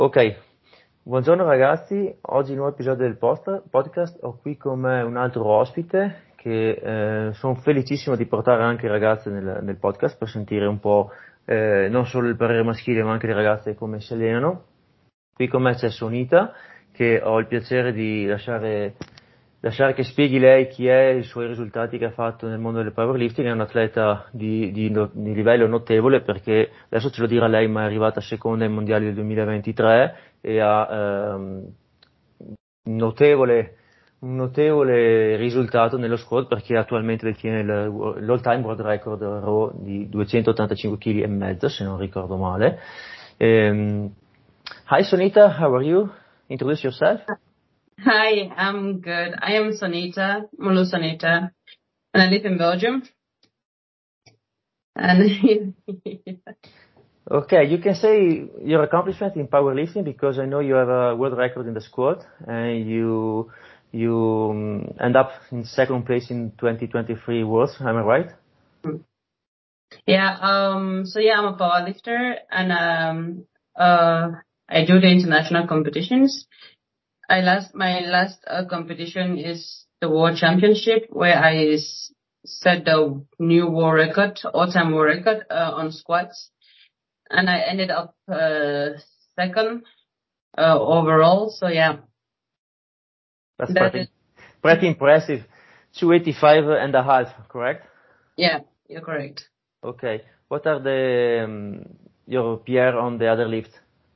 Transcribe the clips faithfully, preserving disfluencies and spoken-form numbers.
Ok, buongiorno ragazzi, oggi nuovo episodio del post- podcast, ho qui con me un altro ospite che eh, sono felicissimo di portare anche le ragazze nel, nel podcast per sentire un po' eh, non solo il parere maschile ma anche le ragazze come si allenano. Qui con me c'è Sonita che ho il piacere di lasciare, lasciare che spieghi lei chi è, i suoi risultati che ha fatto nel mondo del powerlifting. È un atleta di, di, no- di livello notevole perché adesso ce lo dirà lei, ma è arrivata seconda ai mondiali del duemilaventitré e ha ehm, un notevole, un notevole risultato nello squat perché attualmente detiene il- l'all time world record raw di duecentottantacinque chili e mezzo, se non ricordo male. Um, hi Sonita, how are you? Introduce yourself. Hi, I'm good. I am Sonita, Mulu Sonita, and I live in Belgium. And Okay, you can say your accomplishment in powerlifting because I know you have a world record in the squat and you you um, end up in second place in twenty twenty-three Worlds. Am I right? yeah, um, so yeah, I'm a powerlifter, and um, uh, I do the international competitions. I last my last uh, competition is the World Championship, where I s- set the new world record, all-time world record uh, on squats, and I ended up uh, second uh, overall. So yeah, That's that pretty is pretty impressive. two eighty-five and a half, correct? yeah, you're correct. Okay. What are the um, your P R on the other lift?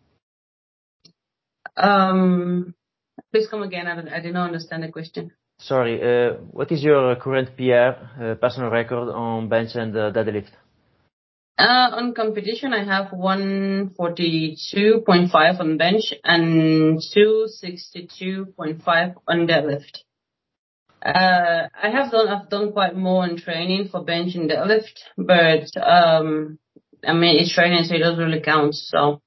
Um, please come again. I, don't- I didn't understand the question. Sorry, uh, what is your current P R, uh, personal record on bench and uh, deadlift? Uh, on competition, I have one forty-two point five on bench and two sixty-two point five on deadlift. Uh, I have done, I've done quite more in training for bench and deadlift, but, um, I mean, it's training, so it doesn't really count, so.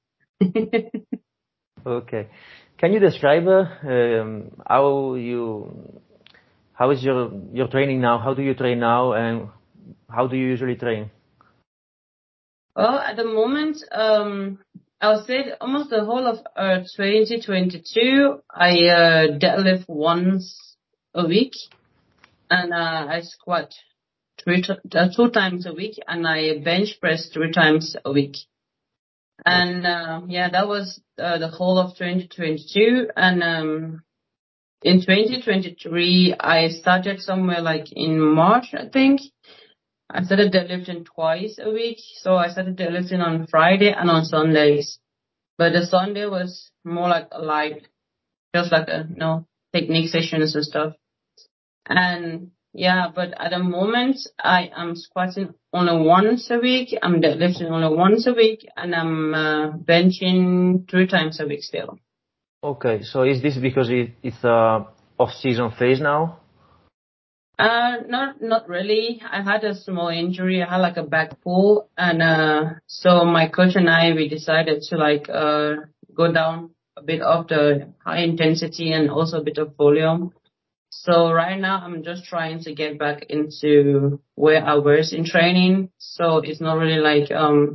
Okay. Can you describe uh, um, how you how is your your training now? How do you train now, and how do you usually train? Well, at the moment, um, I would say almost the whole of uh, twenty twenty-two, I uh, deadlift once a week, and uh, I squat three t- uh, two times a week, and I bench press three times a week. And uh, yeah, that was uh, the whole of twenty twenty-two. And um, in twenty twenty-three, I started somewhere like in March, I think. I started deadlifting twice a week. So I started deadlifting on Friday and on Sundays. But the Sunday was more like a light, just like a, you know, technique sessions and stuff. And yeah, but at the moment I am squatting only once a week. I'm deadlifting only once a week, and I'm uh, benching three times a week still. Okay, so is this because it, it's a off-season phase now? Uh, not not really. I had a small injury. I had like a back pull, and uh, so my coach and I we decided to like uh go down a bit of the high intensity and also a bit of volume. So right now I'm just trying to get back into where I was in training. So it's not really like um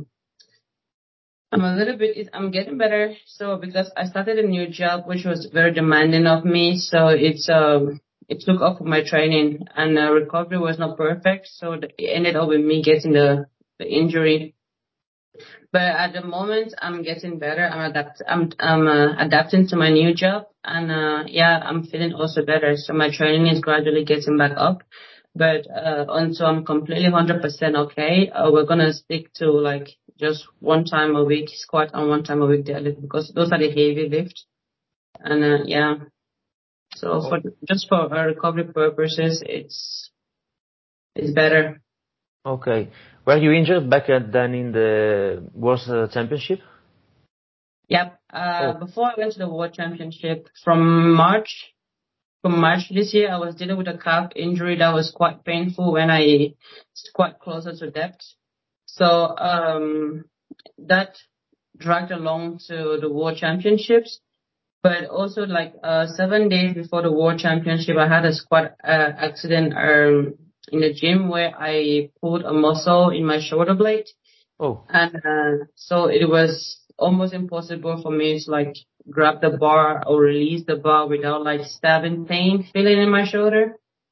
I'm a little bit I'm getting better. So because I started a new job which was very demanding of me, so it's um it took off my training, and uh, recovery was not perfect. So it ended up with me getting the the injury. But at the moment, I'm getting better. I'm adapt. I'm I'm uh, adapting to my new job, and uh, yeah, I'm feeling also better. So my training is gradually getting back up. But uh, until I'm completely one hundred percent okay, uh, we're gonna stick to like just one time a week squat and one time a week deadlift, because those are the heavy lifts. And uh, yeah, so for just for uh, recovery purposes, it's it's better. Okay. Were you injured back at, then in the World uh, Championship? Yep. Uh, Oh, before I went to the World Championship from March. From March this year, I was dealing with a calf injury that was quite painful when I squat closer to depth. So um, that dragged along to the World Championships. But also, like uh, seven days before the World Championship, I had a squat uh, accident um, in the gym where I pulled a muscle in my shoulder blade. oh, And uh, so it was almost impossible for me to like grab the bar or release the bar without like stabbing pain feeling in my shoulder.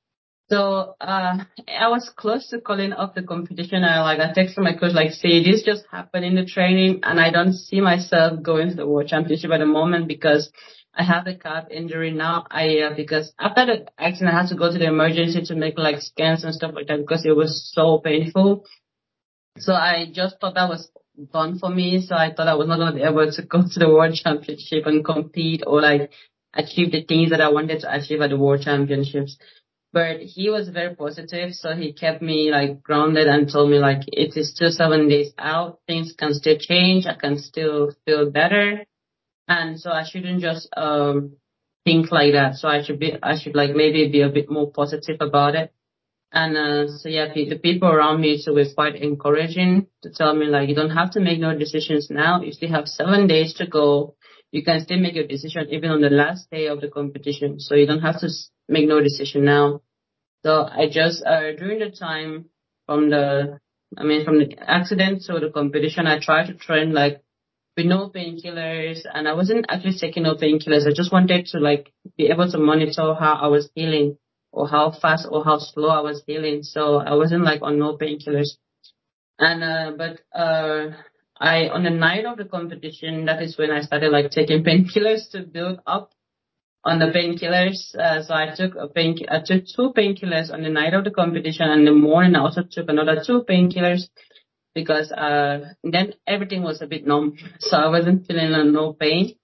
So uh I was close to calling off the competition. I like I texted my coach like, see, this just happened in the training and I don't see myself going to the world championship at the moment because I have a calf injury now. I uh, because after the accident I had to go to the emergency to make like scans and stuff like that because it was so painful. So I just thought that was done for me. So I thought I was not going to be able to go to the world championship and compete or like achieve the things that I wanted to achieve at the world championships. But he was very positive, so he kept me like grounded and told me like it is still seven days out, things can still change, I can still feel better, and so I shouldn't just um think like that. So I should be, I should like maybe be a bit more positive about it. And uh, so yeah, the, the people around me so were quite encouraging to tell me like you don't have to make no decisions now. You still have seven days to go. You can still make your decision even on the last day of the competition. So you don't have to s- make no decision now. So I just, uh, during the time from the, I mean, from the accident to the competition, I tried to train like with no painkillers and I wasn't actually taking no painkillers. I just wanted to like be able to monitor how I was healing or how fast or how slow I was healing. So I wasn't like on no painkillers. And, uh, but, uh, I, on the night of the competition, that is when I started like taking painkillers to build up on the painkillers. Uh, so I took a pain, I took two painkillers on the night of the competition, and in the morning I also took another two painkillers because uh then everything was a bit numb, so I wasn't feeling uh, no pain.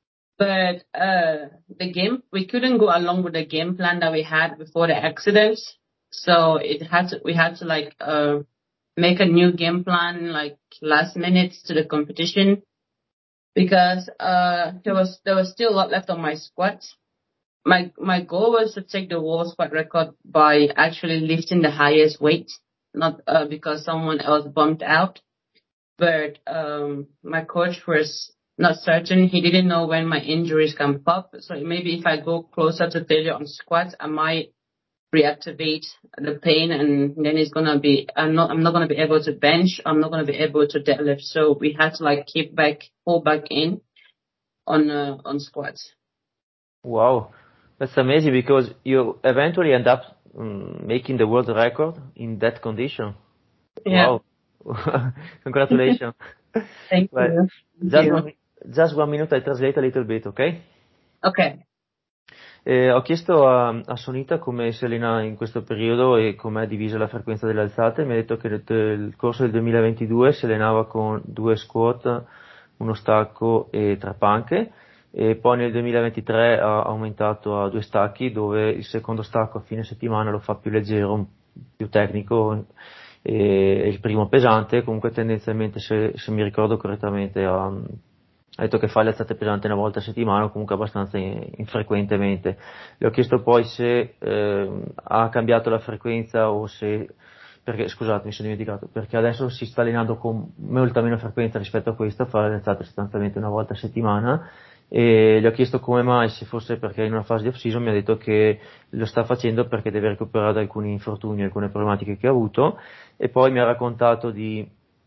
But uh the game we couldn't go along with the game plan that we had before the accident, so it had to we had to like uh make a new game plan like last minute to the competition because uh there was there was still a lot left on my squat. My my goal was to take the world squat record by actually lifting the highest weight, not uh, because someone else bumped out. But um, my coach was not certain. He didn't know when my injuries can pop. So maybe if I go closer to failure on squats, I might reactivate the pain, and then it's gonna be. I'm not. I'm not gonna be able to bench. I'm not gonna be able to deadlift. So we had to like keep back, pull back in on uh, on squats. Wow, that's amazing because you eventually end up um, making the world record in that condition. Yeah. Wow, congratulations. Thank Well, you. Thank just you. one, mi- just one minute, I translate a little bit, ok? Okay. Eh, ho chiesto a, a Sonita come si allena in questo periodo e com'è divisa la frequenza delle alzate. Mi ha detto che nel, nel corso del duemilaventidue si allenava con due squat, uno stacco e tre panche, e poi nel duemilaventitré ha aumentato a due stacchi, dove il secondo stacco a fine settimana lo fa più leggero, più tecnico, e il primo pesante. Comunque tendenzialmente, se, se mi ricordo correttamente, ha, ha detto che fa le alzate pesanti una volta a settimana o comunque abbastanza in- infrequentemente. Le ho chiesto poi se eh, ha cambiato la frequenza o se, perché scusate, mi sono dimenticato, perché adesso si sta allenando con molta meno frequenza rispetto a questo, fa le alzate sostanzialmente una volta a settimana, e gli ho chiesto come mai, se fosse perché è in una fase di off-season. Mi ha detto che lo sta facendo perché deve recuperare da alcuni infortuni, alcune problematiche che ha avuto, e poi mi ha raccontato di,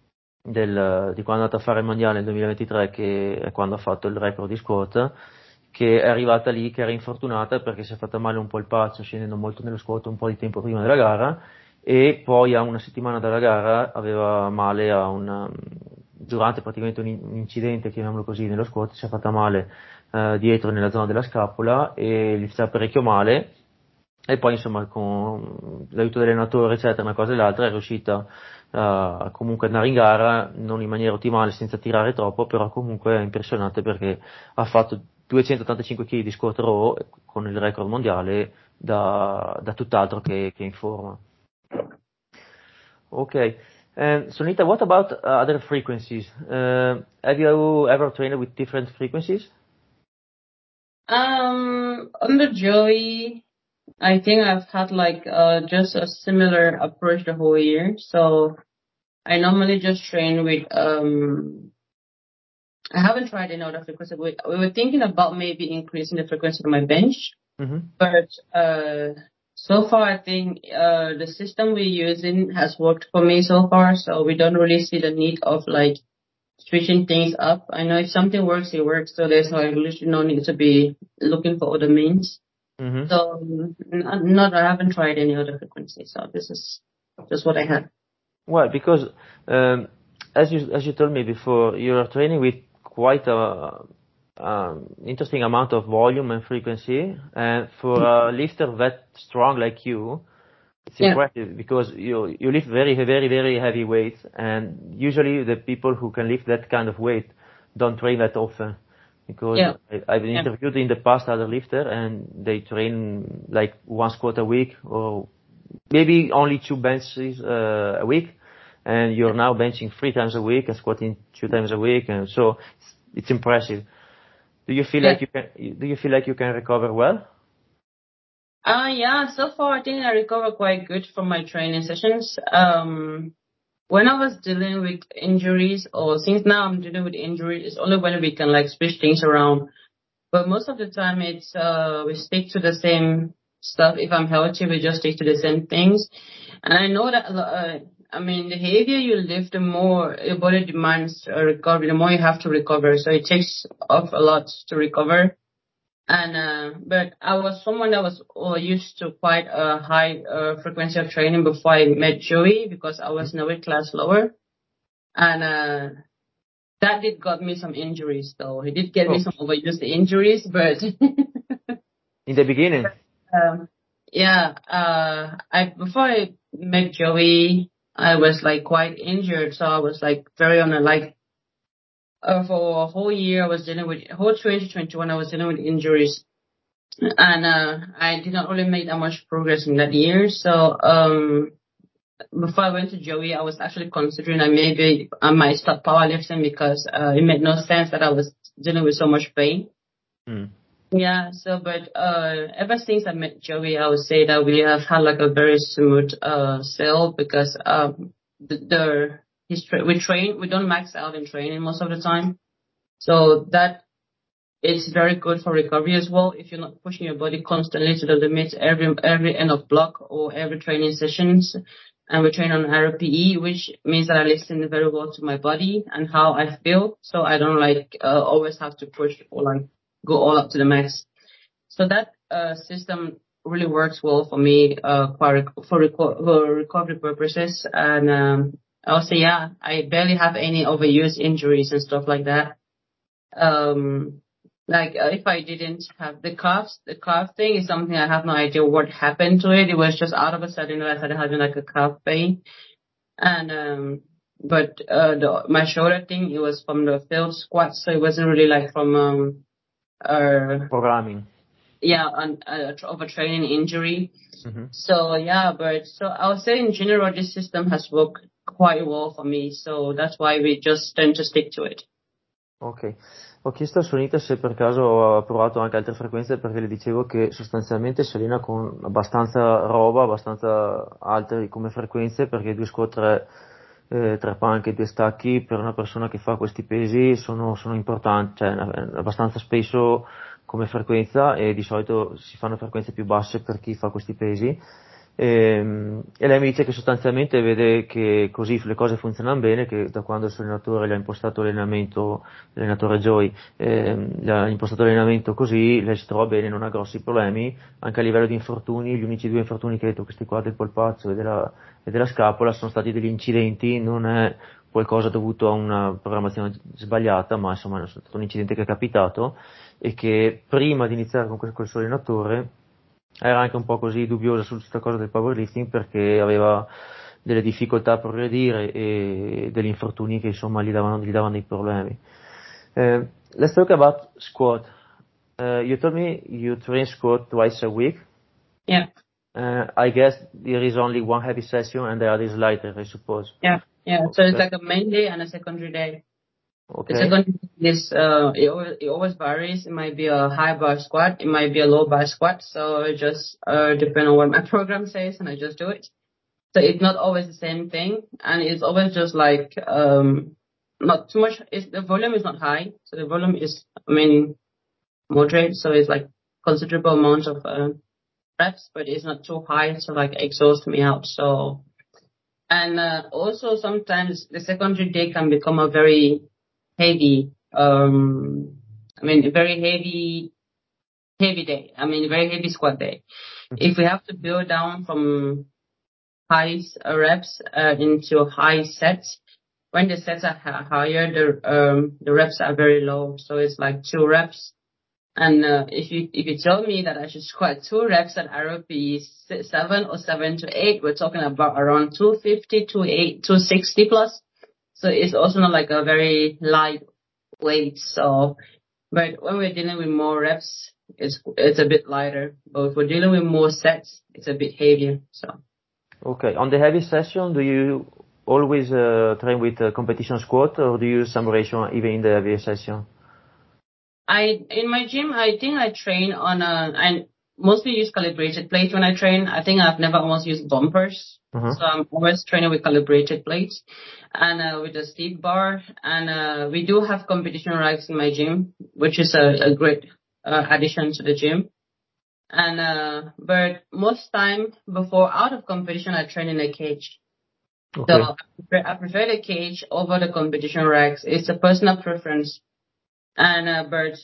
del, di quando è andato a fare il mondiale nel duemilaventitré, che è quando ha fatto il record di squat, che è arrivata lì che era infortunata perché si è fatta male un po' il paccio scendendo molto nello squat un po' di tempo prima della gara, e poi a una settimana dalla gara aveva male a una, durante praticamente un, in- un incidente, chiamiamolo così, nello squat, si è fatta male eh, dietro nella zona della scapola e gli faceva parecchio male, e poi insomma con l'aiuto dell'allenatore eccetera, una cosa e l'altra, è riuscita a comunque andare in gara, non in maniera ottimale, senza tirare troppo, però comunque è impressionante perché ha fatto duecentottantacinque chili di squat row con il record mondiale, da, da tutt'altro che, che in forma. Okay. And Sunita, what about uh, other frequencies? Uh, have you ever trained with different frequencies? Um, on the Joey, I think I've had like uh just a similar approach the whole year. So I normally just train with um. I haven't tried any other frequency. We, we were thinking about maybe increasing the frequency of my bench, Mm-hmm. but uh, so far I think uh the system we're using has worked for me so far. So we don't really see the need of like switching things up. I know if something works, it works. So there's like literally no need to be looking for other means. Mm-hmm. So n- not, I haven't tried any other frequency. So this is just what I had. Well, because um, as you as you told me before, you are training with quite a um, interesting amount of volume and frequency, and for a lifter that strong like you, it's Yeah. impressive because you you lift very very very heavy weights, and usually the people who can lift that kind of weight don't train that often. Because Yeah. I, I've been Yeah. interviewed in the past other lifter, and they train like one squat a week or maybe only two benches uh, a week, and you're now benching three times a week and squatting two times a week, and so it's, it's impressive. Do you feel Yeah. like you can? Do you feel like you can recover well? Uh, yeah, so far I think I recover quite good from my training sessions. Um, when I was dealing with injuries, or since now I'm dealing with injuries, it's only when we can like switch things around. But most of the time it's, uh, we stick to the same stuff. If I'm healthy, we just stick to the same things. And I know that, a lo- uh, I mean, the heavier you lift, the more your body demands a recovery, the more you have to recover. So it takes off a lot to recover. And uh, but I was someone that was uh, used to quite a high uh, frequency of training before I met Joey because I was in a weight class lower, and uh, that did got me some injuries though. He did get me Oh, some overused injuries, but in the beginning. um, yeah, uh, I before I met Joey, I was like quite injured, so I was like very on a like uh, for a whole year I was dealing with whole twenty twenty-one I was dealing with injuries. And uh, I did not really make that much progress in that year. So um, before I went to Joey, I was actually considering that maybe I might stop powerlifting because uh, it made no sense that I was dealing with so much pain. Mm. Yeah. So, but uh, ever since I met Joey, I would say that we have had like a very smooth uh, sale because um, the, the his tra- we train we don't max out in training most of the time. So that it's very good for recovery as well if you're not pushing your body constantly to the limit every every end of block or every training sessions. And we train on R P E, which means that I listen very well to my body and how I feel, so I don't like uh, always have to push or like go all up to the max. So that uh, system really works well for me uh, for for, reco- for recovery purposes. And um, also, yeah, I barely have any overuse injuries and stuff like that. Um, like uh, if I didn't have the calves, the calf thing is something I have no idea what happened to it. It was just out of a sudden I started having like a calf pain, and um, but uh, the, my shoulder thing it was from the failed squat, so it wasn't really like from um, uh, Programming. yeah, an uh, overtraining injury. Mm-hmm. So yeah, but so I would say in general this system has worked quite well for me, so that's why we just tend to stick to it. Ok, ho chiesto a Sonita se per caso ha provato anche altre frequenze perché le dicevo che sostanzialmente si allena con abbastanza roba, abbastanza alte come frequenze perché due squat, tre, eh, tre panche e due stacchi per una persona che fa questi pesi sono, sono importanti, cioè abbastanza spesso come frequenza e di solito si fanno frequenze più basse per chi fa questi pesi. E, e lei mi dice che sostanzialmente vede che così le cose funzionano bene, che da quando il suo allenatore le ha impostato l'allenamento, l'allenatore Joy, ehm, le ha impostato l'allenamento così, lei si trova bene, non ha grossi problemi, anche a livello di infortuni, gli unici due infortuni che ha detto, questi qua del polpaccio e della, e della scapola, sono stati degli incidenti, non è qualcosa dovuto a una programmazione sbagliata, ma insomma è stato un incidente che è capitato e che prima di iniziare con quel suo allenatore era anche un po' così dubbiosa su questa cosa del powerlifting perché aveva delle difficoltà a progredire e degli infortuni che insomma gli davano, gli davano dei problemi. Uh, let's talk about squat. Uh, you told me you train squat twice a week. Yeah. Uh, I guess there is only one heavy session and the other is lighter, I suppose. Yeah, yeah. So it's Okay. like a main day and a secondary day. The Okay. secondary day is uh, it always, it always varies. It might be a high bar squat, it might be a low bar squat. So it just uh depends on what my program says, and I just do it. So it's not always the same thing, and it's always just like um not too much. It's, the volume is not high, so the volume is I mean moderate. So it's like considerable amount of uh, reps, but it's not too high to like exhaust me out. So. And uh, also sometimes the secondary day can become a very heavy, um, I mean, a very heavy, heavy day. I mean, very heavy squat day. Mhm. If we have to build down from high uh, reps uh, into high sets, when the sets are ha- higher, the um, the reps are very low. So it's like two reps. And uh, if you if you tell me that I should squat two reps at R O P seven or seven to eight, we're talking about around two fifty, two eight, two sixty plus. So it's also not like a very light weight. So, but when we're dealing with more reps, it's it's a bit lighter. But if we're dealing with more sets, it's a bit heavier. So. Okay. On the heavy session, do you always uh, train with uh, competition squat, or do you use some ratio even in the heavy session? I in my gym, I think I train on a. I mostly use calibrated plates when I train. I think I've never almost used bumpers, Uh-huh. so I'm always training with calibrated plates and uh, with a steep bar. And uh, we do have competition racks in my gym, which is a, a great uh, addition to the gym. And uh, but most time before out of competition, I train in a cage. So Okay. I prefer, I prefer the cage over the competition racks. It's a personal preference. And uh, but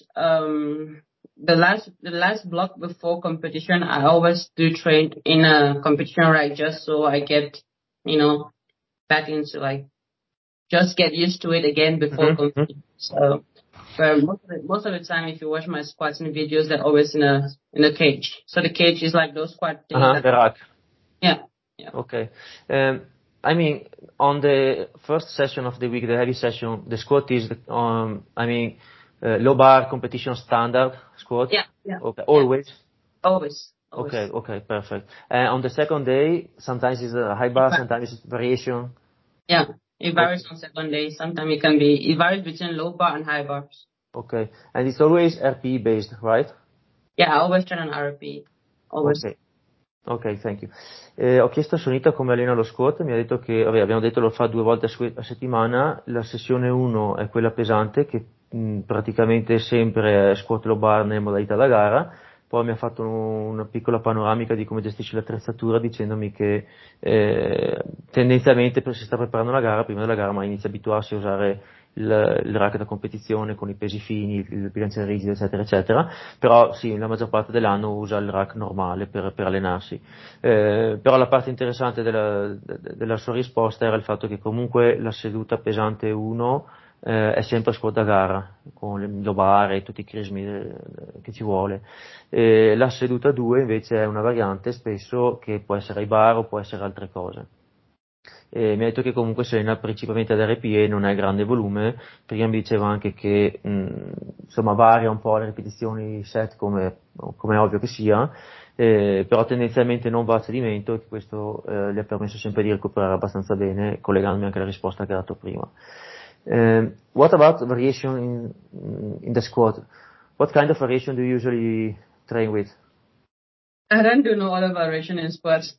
um, the last the last block before competition, I always do train in a competition rack just so I get, you know, back into like just get used to it again before Mm-hmm. competition. So, but most of the, most of the time, if you watch my squats and videos, they're always in a in a cage. So the cage is like those squat things Uh-huh. that The rack. yeah yeah Okay. Um, I mean, on the first session of the week, the heavy session, the squat is, the, um, I mean, uh, low bar competition standard squat. yeah yeah Okay. yeah Always. always Okay. always. Okay. Perfect. And on the second day, sometimes it's a high It bar, va- sometimes it's variation. Yeah, it varies Okay. on second day. Sometimes it can be it varies between low bar and high bars. Okay. And it's always R P E based, right? Yeah, I always train on R P. Always. Ok, ok, thank you. Eh, ho chiesto a Sonita come allena lo squat, mi ha detto che, vabbè, abbiamo detto lo fa due volte a, su- a settimana, la sessione uno è quella pesante, che mh, praticamente sempre è squat low bar nelle modalità da gara, poi mi ha fatto un- una piccola panoramica di come gestisce l'attrezzatura dicendomi che eh, tendenzialmente per- si sta preparando la gara, prima della gara, ma inizia a abituarsi a usare il, il rack da competizione con i pesi fini, il bilanciere rigido, eccetera, eccetera. Però sì, la maggior parte dell'anno usa il rack normale per, per allenarsi. Eh, però la parte interessante della, de- della sua risposta era il fatto che comunque la seduta pesante uno eh, è sempre squat da gara, con le lobare e tutti i crismi eh, che ci vuole. E la seduta due invece è una variante spesso che può essere ai bar o può essere altre cose. E mi ha detto che comunque si allena principalmente ad R P E, non è grande volume, prima mi diceva anche che mh, insomma varia un po' le ripetizioni set come, come è ovvio che sia, eh, però tendenzialmente non va a cedimento e che questo eh, gli ha permesso sempre di recuperare abbastanza bene, collegandomi anche alla risposta che ha dato prima. Um, what about variation in, in the squat? What kind of variation do you usually train with? I don't do no other variation in squats.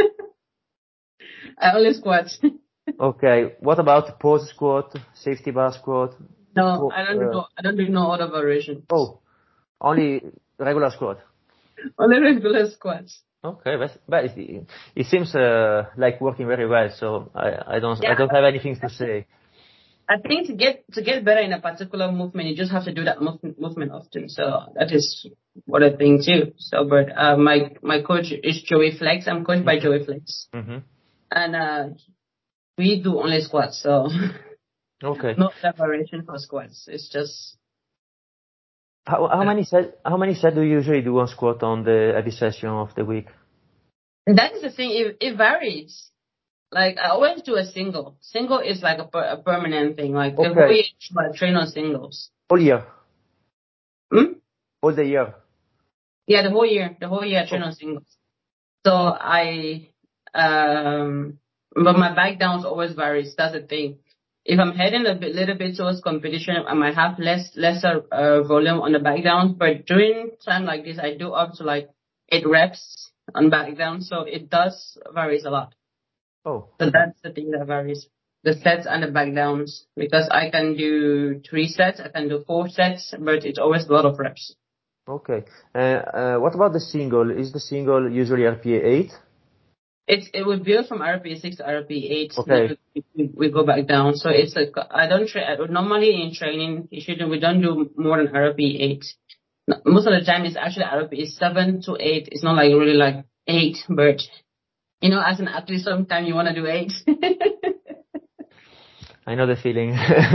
I only squat. Okay, what about pause squat, safety bar squat? No, Po- I don't do uh, no I don't do no other variation. oh, only regular squat. Only regular squats. Okay, but, but it, it seems uh, like working very well. So I, I don't I Yeah, don't have anything to say. I think to get to get better in a particular movement, you just have to do that move, movement often. So that is what I think too. So, but uh, my my coach is Joey Flex. I'm coached by Mm-hmm. Joey Flex, Mm-hmm. and uh, we do only squats. So Okay. no separation for squats. It's just How how uh, many set how many set do you usually do on squat on the every session of the week? that is the thing. It, it varies. Like I always do a single. Single is like a, per, a permanent thing. Like the whole Okay, year I train on singles. all year, Hmm? all the year. Yeah, the whole year. The whole year I train Oh, on singles. So I, um, but my back downs always varies. That's the thing. If I'm heading a bit, little bit towards competition, I might have less, lesser uh, volume on the back down. But during time like this, I do up to like eight reps on back down. So it does varies a lot. oh, So that's the thing that varies. The sets and the back downs. Because I can do three sets, I can do four sets, but it's always a lot of reps. okay. Uh, uh, what about the single? Is the single usually R P A eight? It's it we build from R P E six to R P E eight. Okay. Then we, we, we go back down. So it's like I don't tra- normally in training you shouldn't we don't do more than R P E eight. Most of the time it's actually R P E seven to eight. It's not like really like eight, but you know, as an athlete, sometimes you want to do eight. I know the feeling.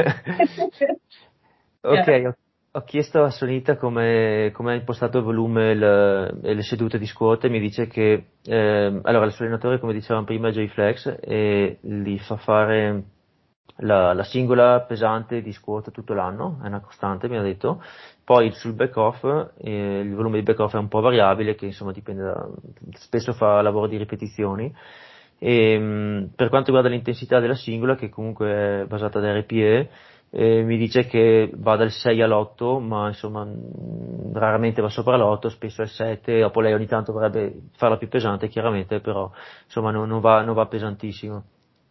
Ok, Yeah. ho, ho chiesto a Sonita come, come ha impostato il volume e le, e le sedute di squat e mi dice che ehm, allora il suo allenatore, come dicevamo prima, è J-Flex e gli fa fare la, la singola pesante di squat tutto l'anno, è una costante, mi ha detto. Poi sul back-off, eh, il volume di back-off è un po' variabile, che insomma dipende da, spesso fa lavoro di ripetizioni. E, mh, per quanto riguarda l'intensità della singola, che comunque è basata da R P E, eh, mi dice che va dal sei all'otto, ma insomma mh, raramente va sopra l'otto, spesso è il sette, dopo lei ogni tanto vorrebbe farla più pesante chiaramente, però insomma non, non va, non va pesantissimo.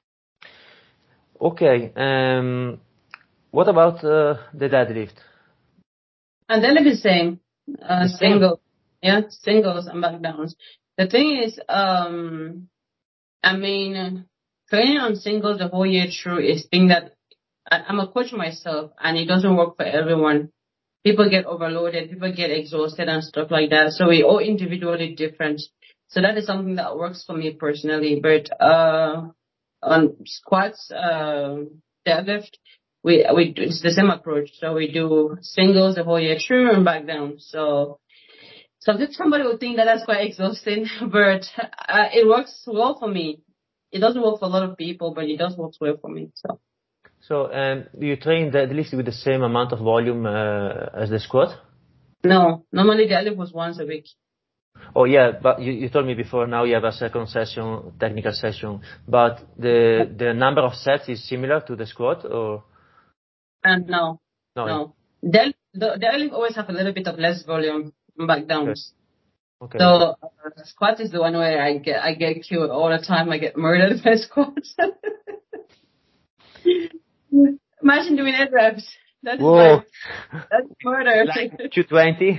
Ok, um, what about uh, the deadlift? And then the same, uh, The same? single, yeah, singles and back downs. The thing is, um, I mean, training on singles the whole year through is thing that I, I'm a coach myself, and it doesn't work for everyone. People get overloaded, people get exhausted and stuff like that. So we all individually different. So that is something that works for me personally. But uh, on squats, uh, deadlift, we we do, it's the same approach. So we do singles the whole year through and back down. So sometimes somebody would think that that's quite exhausting, but uh, it works well for me. It doesn't work for a lot of people, but it does work well for me. So So, um, do you train deadlift with the same amount of volume uh, as the squat? no, normally deadlift was once a week. Oh yeah, but you, you told me before now you have a second session, technical session, but the the number of sets is similar to the squat or And no, no? no. Del, the deadlift always have a little bit of less volume and back Okay, downs. So okay. uh, squat is the one where I get I get killed all the time. I get murdered by squats. Imagine doing eight reps. That is Whoa, like that's murder. like two twenty?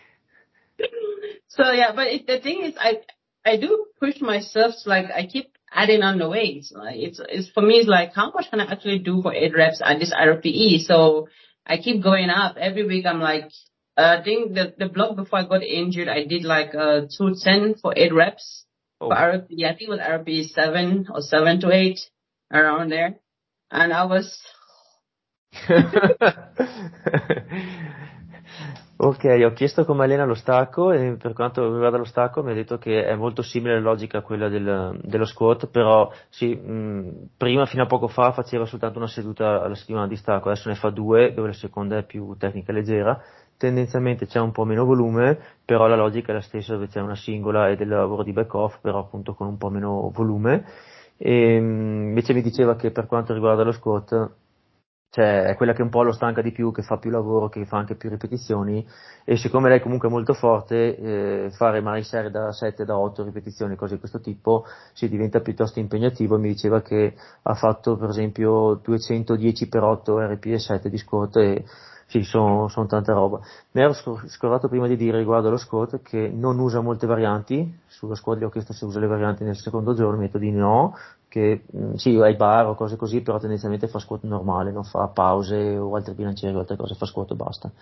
So yeah, but it, the thing is, I I do push myself. Like I keep adding on the weights. Like it's it's for me. It's like how much can I actually do for eight reps at this R P E? So I keep going up every week. I'm like, uh, I think the the block before I got injured, I did like uh two ten for eight reps for Oh. R P E. I think it was R P E seven or seven to eight around there, and I was. Ok, ho chiesto come allena lo stacco e per quanto riguarda lo stacco mi ha detto che è molto simile la logica a quella del- dello squat, però sì, mh, prima fino a poco fa faceva soltanto una seduta alla settimana di stacco, adesso ne fa due, dove la seconda è più tecnica e leggera, tendenzialmente c'è un po' meno volume, però la logica è la stessa dove c'è una singola e del lavoro di back off, però appunto con un po' meno volume. E, mh, invece mi diceva che per quanto riguarda lo squat, cioè è quella che un po' lo stanca di più, che fa più lavoro, che fa anche più ripetizioni e siccome lei comunque è molto forte, eh, fare magari serie da sette, da otto ripetizioni, cose di questo tipo, si diventa piuttosto impegnativo. Mi diceva che ha fatto per esempio duecentodieci per otto R P E sette di squat e sì, sono son tanta roba. Mi ero scor- scordato prima di dire riguardo allo squat che non usa molte varianti, sullo squat gli ho chiesto se usa le varianti nel secondo giorno, mi ha detto di no, che mh, sì, ai bar o cose così, però tendenzialmente fa squat normale, non fa pause o altri bilancieri o altre cose, fa squat e basta.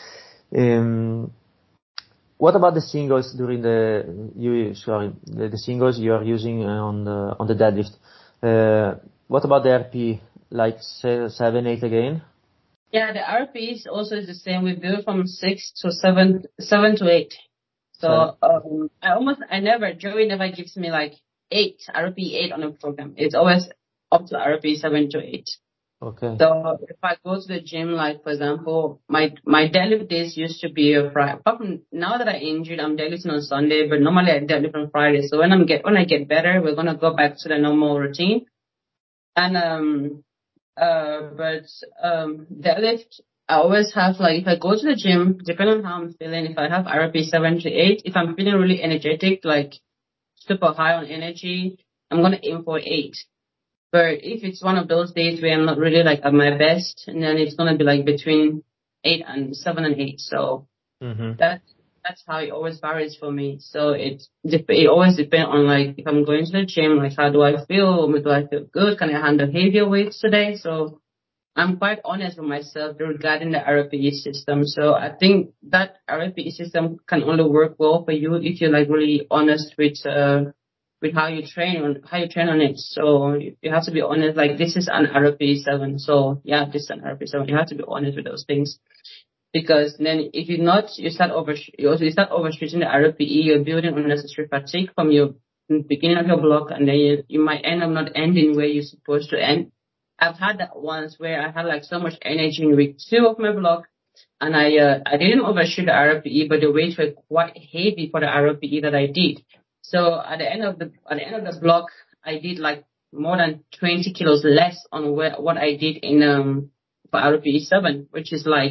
Ehm, what about the singles during the you sorry the, the singles you are using uh, on the on the deadlift? Uh, what about the R P? Like se- seven, eight again? Yeah, the R P is also the same. We build from six to seven, seven to eight. Seven. So um, I almost, I never, Joey never gives me like eight, R P eight on a program. It's always up to R P seven to eight. Okay. So if I go to the gym, like for example, my my deadlift days used to be a Friday. Apart from now that I injured, I'm deadlifting on Sunday, but normally I deadlift on Friday. So when I'm get when I get better, we're gonna go back to the normal routine. And um uh, but um, deadlift, I always have like if I go to the gym, depending on how I'm feeling, if I have R P seven to eight, if I'm feeling really energetic, like super high on energy, I'm gonna aim for eight. But if it's one of those days where I'm not really like at my best, and then it's gonna be like between eight and seven and eight. So Mm-hmm. that that's how it always varies for me. So it dep- it always depends on like if I'm going to the gym, like how do I feel? Do I feel good? Can I handle heavier weights today? So I'm quite honest with myself regarding the R P E system. So I think that R P E system can only work well for you if you're like really honest with uh with how you train on how you train on it. So you you have to be honest. Like this is an R P E seven. So yeah, this is an R P E seven. You have to be honest with those things. Because then if you're not, you start over, you also you start overstretching the R P E, you're building unnecessary fatigue from your beginning of your block, and then you, you might end up not ending where you're supposed to end. I've had that once where I had like so much energy in week two of my block, and I uh, I didn't overshoot the R P E, but the weights were quite heavy for the R P E that I did. So at the end of the at the end of the block, I did like more than twenty kilos less on where, what I did in um for R P E seven, which is like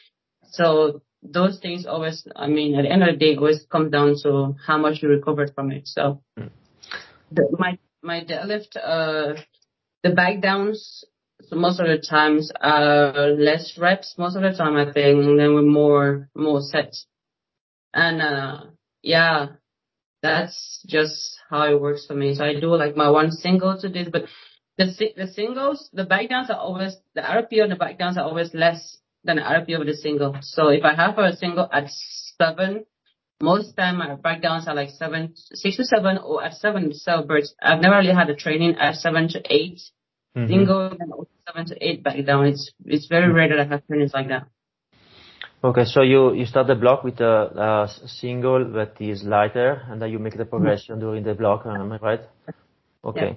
so those things always, I mean, at the end of the day, it always comes down to how much you recovered from it. So the, my my deadlift, uh, the back downs, so most of the times are less reps. Most of the time, I think, and then with more more sets. And uh, yeah, that's just how it works for me. So I do like my one single to this, but the si- the singles, the back downs are always the R P O and the back downs are always less than the R P O of the single. So if I have a single at seven, most time my back downs are like seven, six to seven, or at seven cell bursts. I've never really had a training at seven to eight Mm-hmm. single and also seven to eight back down. It's it's very rare that I have trainings like that. Okay, so you, you start the block with a, a single that is lighter, and then you make the progression mm-hmm. during the block, am I right? Ok. Yeah.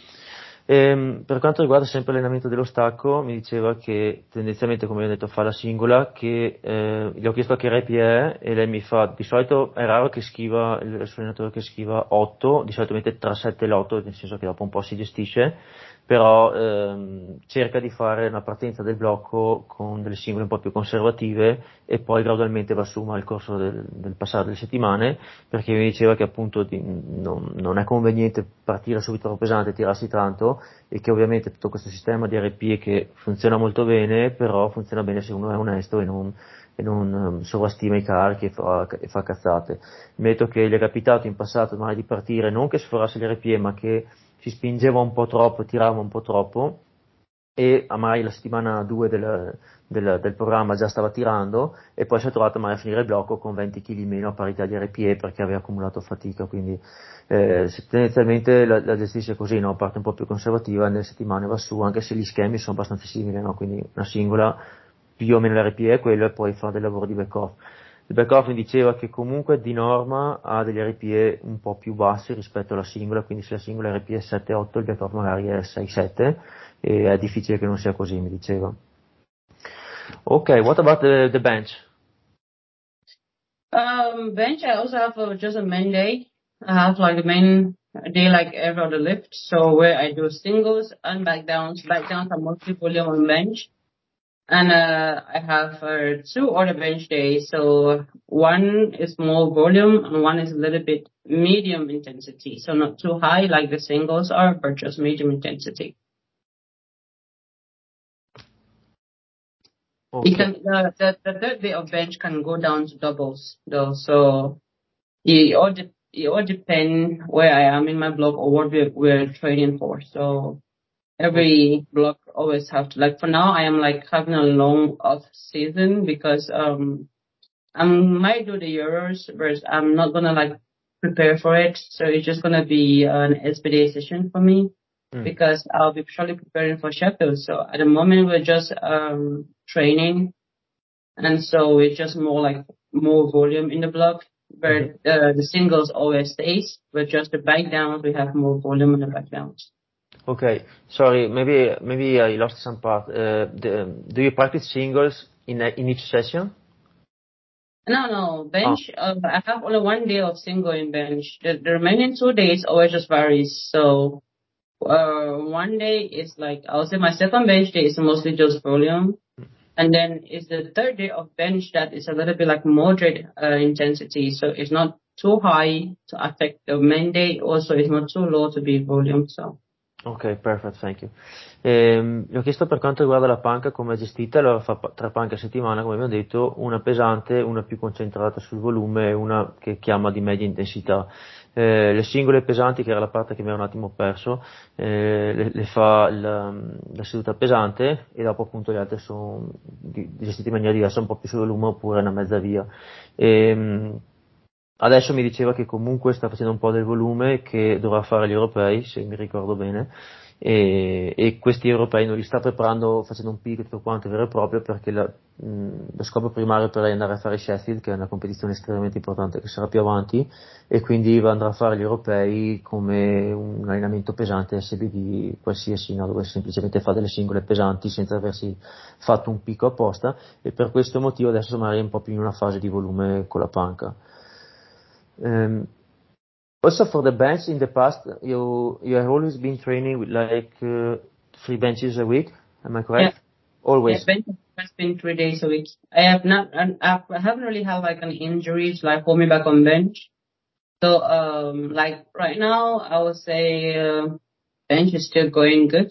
Ehm, per quanto riguarda sempre l'allenamento dello stacco, mi diceva che tendenzialmente, come ho detto, fa la singola, che eh, gli ho chiesto che rep è e lei mi fa, di solito è raro che scriva, il suo allenatore che scriva otto, di solito mette tra sette e l'otto, nel senso che dopo un po' si gestisce, però ehm, cerca di fare una partenza del blocco con delle singole un po' più conservative e poi gradualmente va su nel corso del, del passare delle settimane, perché mi diceva che appunto di, non, non è conveniente partire subito troppo pesante e tirarsi tanto, e che ovviamente tutto questo sistema di R P E che funziona molto bene, però funziona bene se uno è onesto e non, e non um, sovrastima i carichi e fa, e fa cazzate. Metto che gli è capitato in passato magari di partire non che sforasse l'R P E, ma che si spingeva un po' troppo, tirava un po' troppo, e magari la settimana due del, del, del programma già stava tirando, e poi si è trovato magari a finire il blocco con venti chili in meno a parità di R P E perché aveva accumulato fatica. Quindi eh, tendenzialmente la, la gestisce così, no? Parte un po' più conservativa, nelle settimane va su, anche se gli schemi sono abbastanza simili, no? Quindi una singola, più o meno l'R P E è quello, e poi fa del lavoro di back-off. Il back-off mi diceva che comunque di norma ha degli R P E un po' più bassi rispetto alla singola, quindi se la singola R P E è sette otto, il back-off magari è sei sette, e è difficile che non sia così, mi diceva. Ok, what about the, the bench? Um, bench, I also have a, just a main day. I have like a main day like every other lift. So where I do singles and back downs. Back downs are mostly volume on bench. And uh, I have uh, two other bench days. So one is more volume and one is a little bit medium intensity. So not too high like the singles are, but just medium intensity. Okay. It can, the, the, the third day of bench can go down to doubles though. So it all, de- it all depends where I am in my block or what we're, we're training for. So every block always have to, like for now I am like having a long off season because um I might do the Euros, but I'm not gonna like prepare for it. So it's just gonna be an S B D session for me mm. because I'll be surely preparing for Sheffield. So at the moment we're just um training, and so it's just more like more volume in the block. But mm-hmm. uh, the singles always stays, but just the back downs we have more volume in the back downs. Okay, sorry, maybe maybe I lost some part. Uh, the, do you practice singles in a, in each session? No, no, bench. Oh. Uh, I have only one day of single in bench. The, the remaining two days always just varies. So, uh, one day is like I'll say my second bench day is mostly just volume, and then it's the third day of bench that is a little bit like moderate uh, intensity. So it's not too high to affect the main day. Also, it's not too low to be volume. So. Ok, perfect, thank you. Ehm, gli ho chiesto per quanto riguarda la panca come è gestita, allora fa pa- tre panche a settimana, come abbiamo detto, una pesante, una più concentrata sul volume e una che chiama di media intensità. Eh, le singole pesanti, che era la parte che mi ero un attimo perso, eh, le, le fa la, la seduta pesante e dopo appunto le altre sono di- gestite in maniera diversa, un po' più sul volume oppure una mezza via. Ehm, Adesso mi diceva che comunque sta facendo un po' del volume che dovrà fare gli europei, se mi ricordo bene, e, e questi europei non li sta preparando facendo un pick e tutto quanto vero e proprio perché la, mh, lo scopo primario per lei è andare a fare Sheffield, che è una competizione estremamente importante che sarà più avanti, e quindi va andrà a fare gli europei come un allenamento pesante S B D qualsiasi, no? Dove semplicemente fa delle singole pesanti senza aversi fatto un picco apposta, e per questo motivo adesso magari è un po' più in una fase di volume con la panca. Um, Also for the bench in the past, you you have always been training with like uh, three benches a week. Am I Yeah. correct? Yeah, Always. bench has been three days a week. I have not, and I haven't really had like an injury to like hold me back on bench. So, um, like right now, I would say uh, bench is still going good.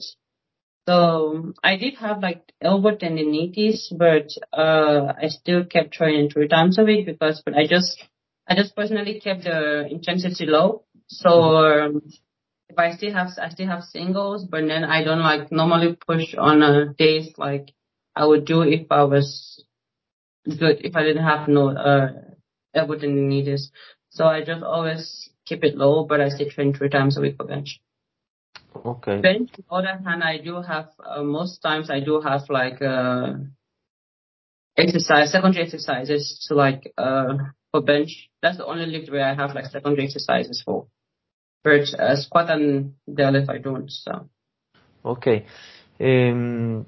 So I did have like elbow tendinitis, but uh, I still kept training three times a week because, but I just, I just personally kept the intensity low. So Mhm. um, if I still have, I still have singles, but then I don't like normally push on uh, days like I would do if I was good, if I didn't have no uh, elbow tendinitis. So I just always keep it low, but I still train three times a week for bench. Okay. Bench, on the other hand, I do have, uh, most times I do have like, uh, exercise, secondary exercises to like, uh, for bench. That's the only lift where I have like secondary exercises for. But, uh, squat and deadlift I don't, so. Ok. Ehm,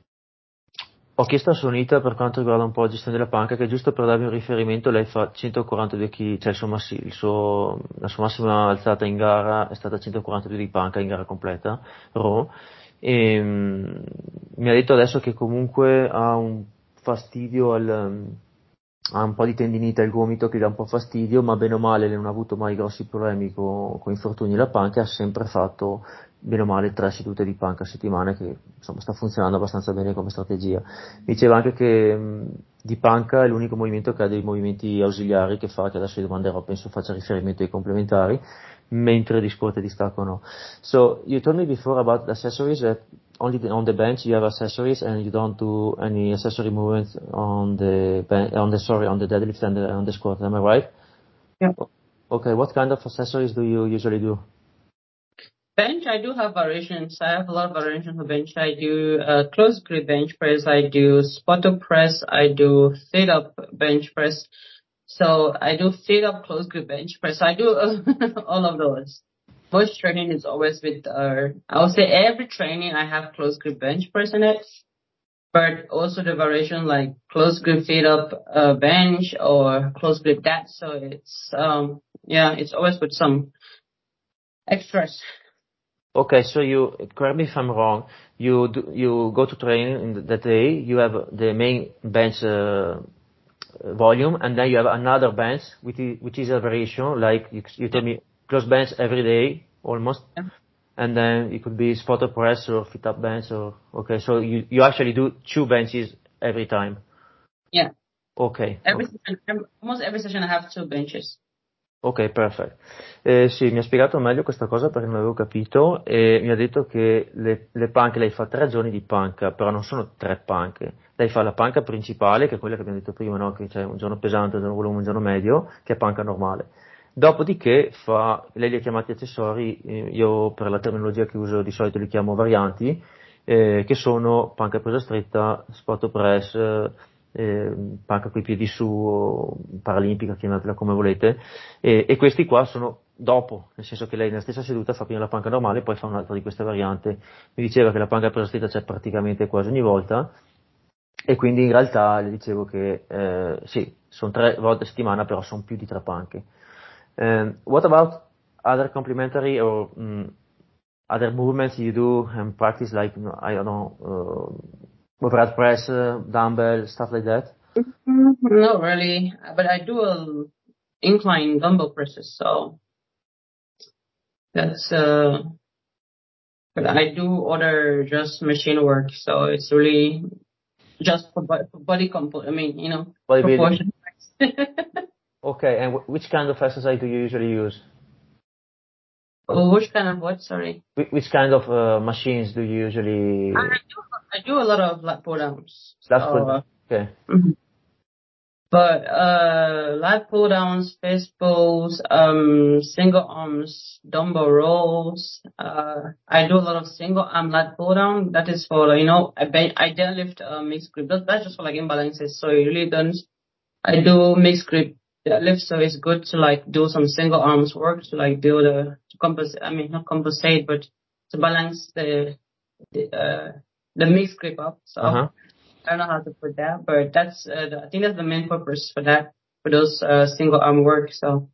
Ho chiesto a Sonita per quanto riguarda un po' la gestione della panca, che giusto per darvi un riferimento, lei fa centoquarantadue chili, cioè il suo massi- il suo- la sua massima alzata in gara è stata centoquarantadue di panca in gara completa, raw, e mm, mi ha detto adesso che comunque ha un fastidio al, ha un po' di tendinite al gomito che dà un po' fastidio, ma bene o male non ha avuto mai grossi problemi con, con infortuni alla panca, ha sempre fatto bene o male tre sedute di panca a settimana, che insomma sta funzionando abbastanza bene come strategia. Mi diceva anche che mh, di panca è l'unico movimento che ha dei movimenti ausiliari che fa, che adesso gli domanderò, penso faccia riferimento ai complementari, mentre di squat e di stacco no. So you told me before about the accessories that only the, on the bench you have accessories and you don't do any accessory movements on the ben- on the sorry on the deadlift and the, on the squat. Am I right? Yeah. Okay. What kind of accessories do you usually do? Bench, I do have variations. I have a lot of variations for bench. I do uh, close grip bench press. I do spotter press. I do fit up bench press. So I do fit up close grip bench press. I do uh, all of those. Most training is always with, uh, I would say every training I have close grip bench press in it, but also the variation like close grip fit up uh, bench or close grip that. So it's, um, yeah, it's always with some extras. Okay, so you correct me if I'm wrong. You do, you go to training in that day. You have the main bench uh, volume, and then you have another bench which is, which is a variation. Like you, you told me, close bench every day almost, Yeah. and then it could be spotter press or fit up bench. Or okay, so you you actually do two benches every time. Yeah. Okay, Every okay. session, every, almost every session I have two benches. Ok, perfetto. Eh, sì, mi ha spiegato meglio questa cosa perché non avevo capito e mi ha detto che le, le panche, lei fa tre giorni di panca, però non sono tre panche. Lei fa la panca principale, che è quella che abbiamo detto prima, no? Che c'è un giorno pesante, un giorno volume, un giorno medio, che è panca normale. Dopodiché fa, lei li ha chiamati accessori, eh, io per la terminologia che uso di solito li chiamo varianti, eh, che sono panca presa stretta, spot press, eh, panca coi piedi su, o paralimpica, chiamatela come volete, e, e questi qua sono dopo, nel senso che lei nella stessa seduta fa prima la panca normale e poi fa un'altra di queste varianti. Mi diceva che la panca presa stretta c'è praticamente quasi ogni volta, e quindi in realtà le dicevo che eh, sì, sono tre volte a settimana, però sono più di tre panche. Um, what about other complementary or mm, other movements you do and practice, like I don't know, uh, overhead press, uh, dumbbell, stuff like that? Mm, Not really, but I do a incline dumbbell presses, so that's uh But I do other just machine work, so it's really just for, bo- for body compo. I mean, you know, Bodybuilding. proportion. Okay, and w- which kind of exercise do you usually use? Oh, which kind of what? Sorry. Wh- which kind of uh, machines do you usually? I do. I do a lot of lat pull downs. That's So, for okay. mhm. But uh, lat pull downs, fist pulls, um, single arms, dumbbell rolls. Uh, I do a lot of single arm lat pull down. That is for, you know, I ben- I deadlift uh, mixed grip. That, that's just for like imbalances. So it really don't. I do mixed grip deadlift, so it's good to like do some single arms work to like do the to compensate. I mean, not compensate, but to balance the the uh, the mixed grip up. So. Uh huh. I don't know how to put that, but that's uh, the, I think that's the main purpose for that, for those uh, single arm work. So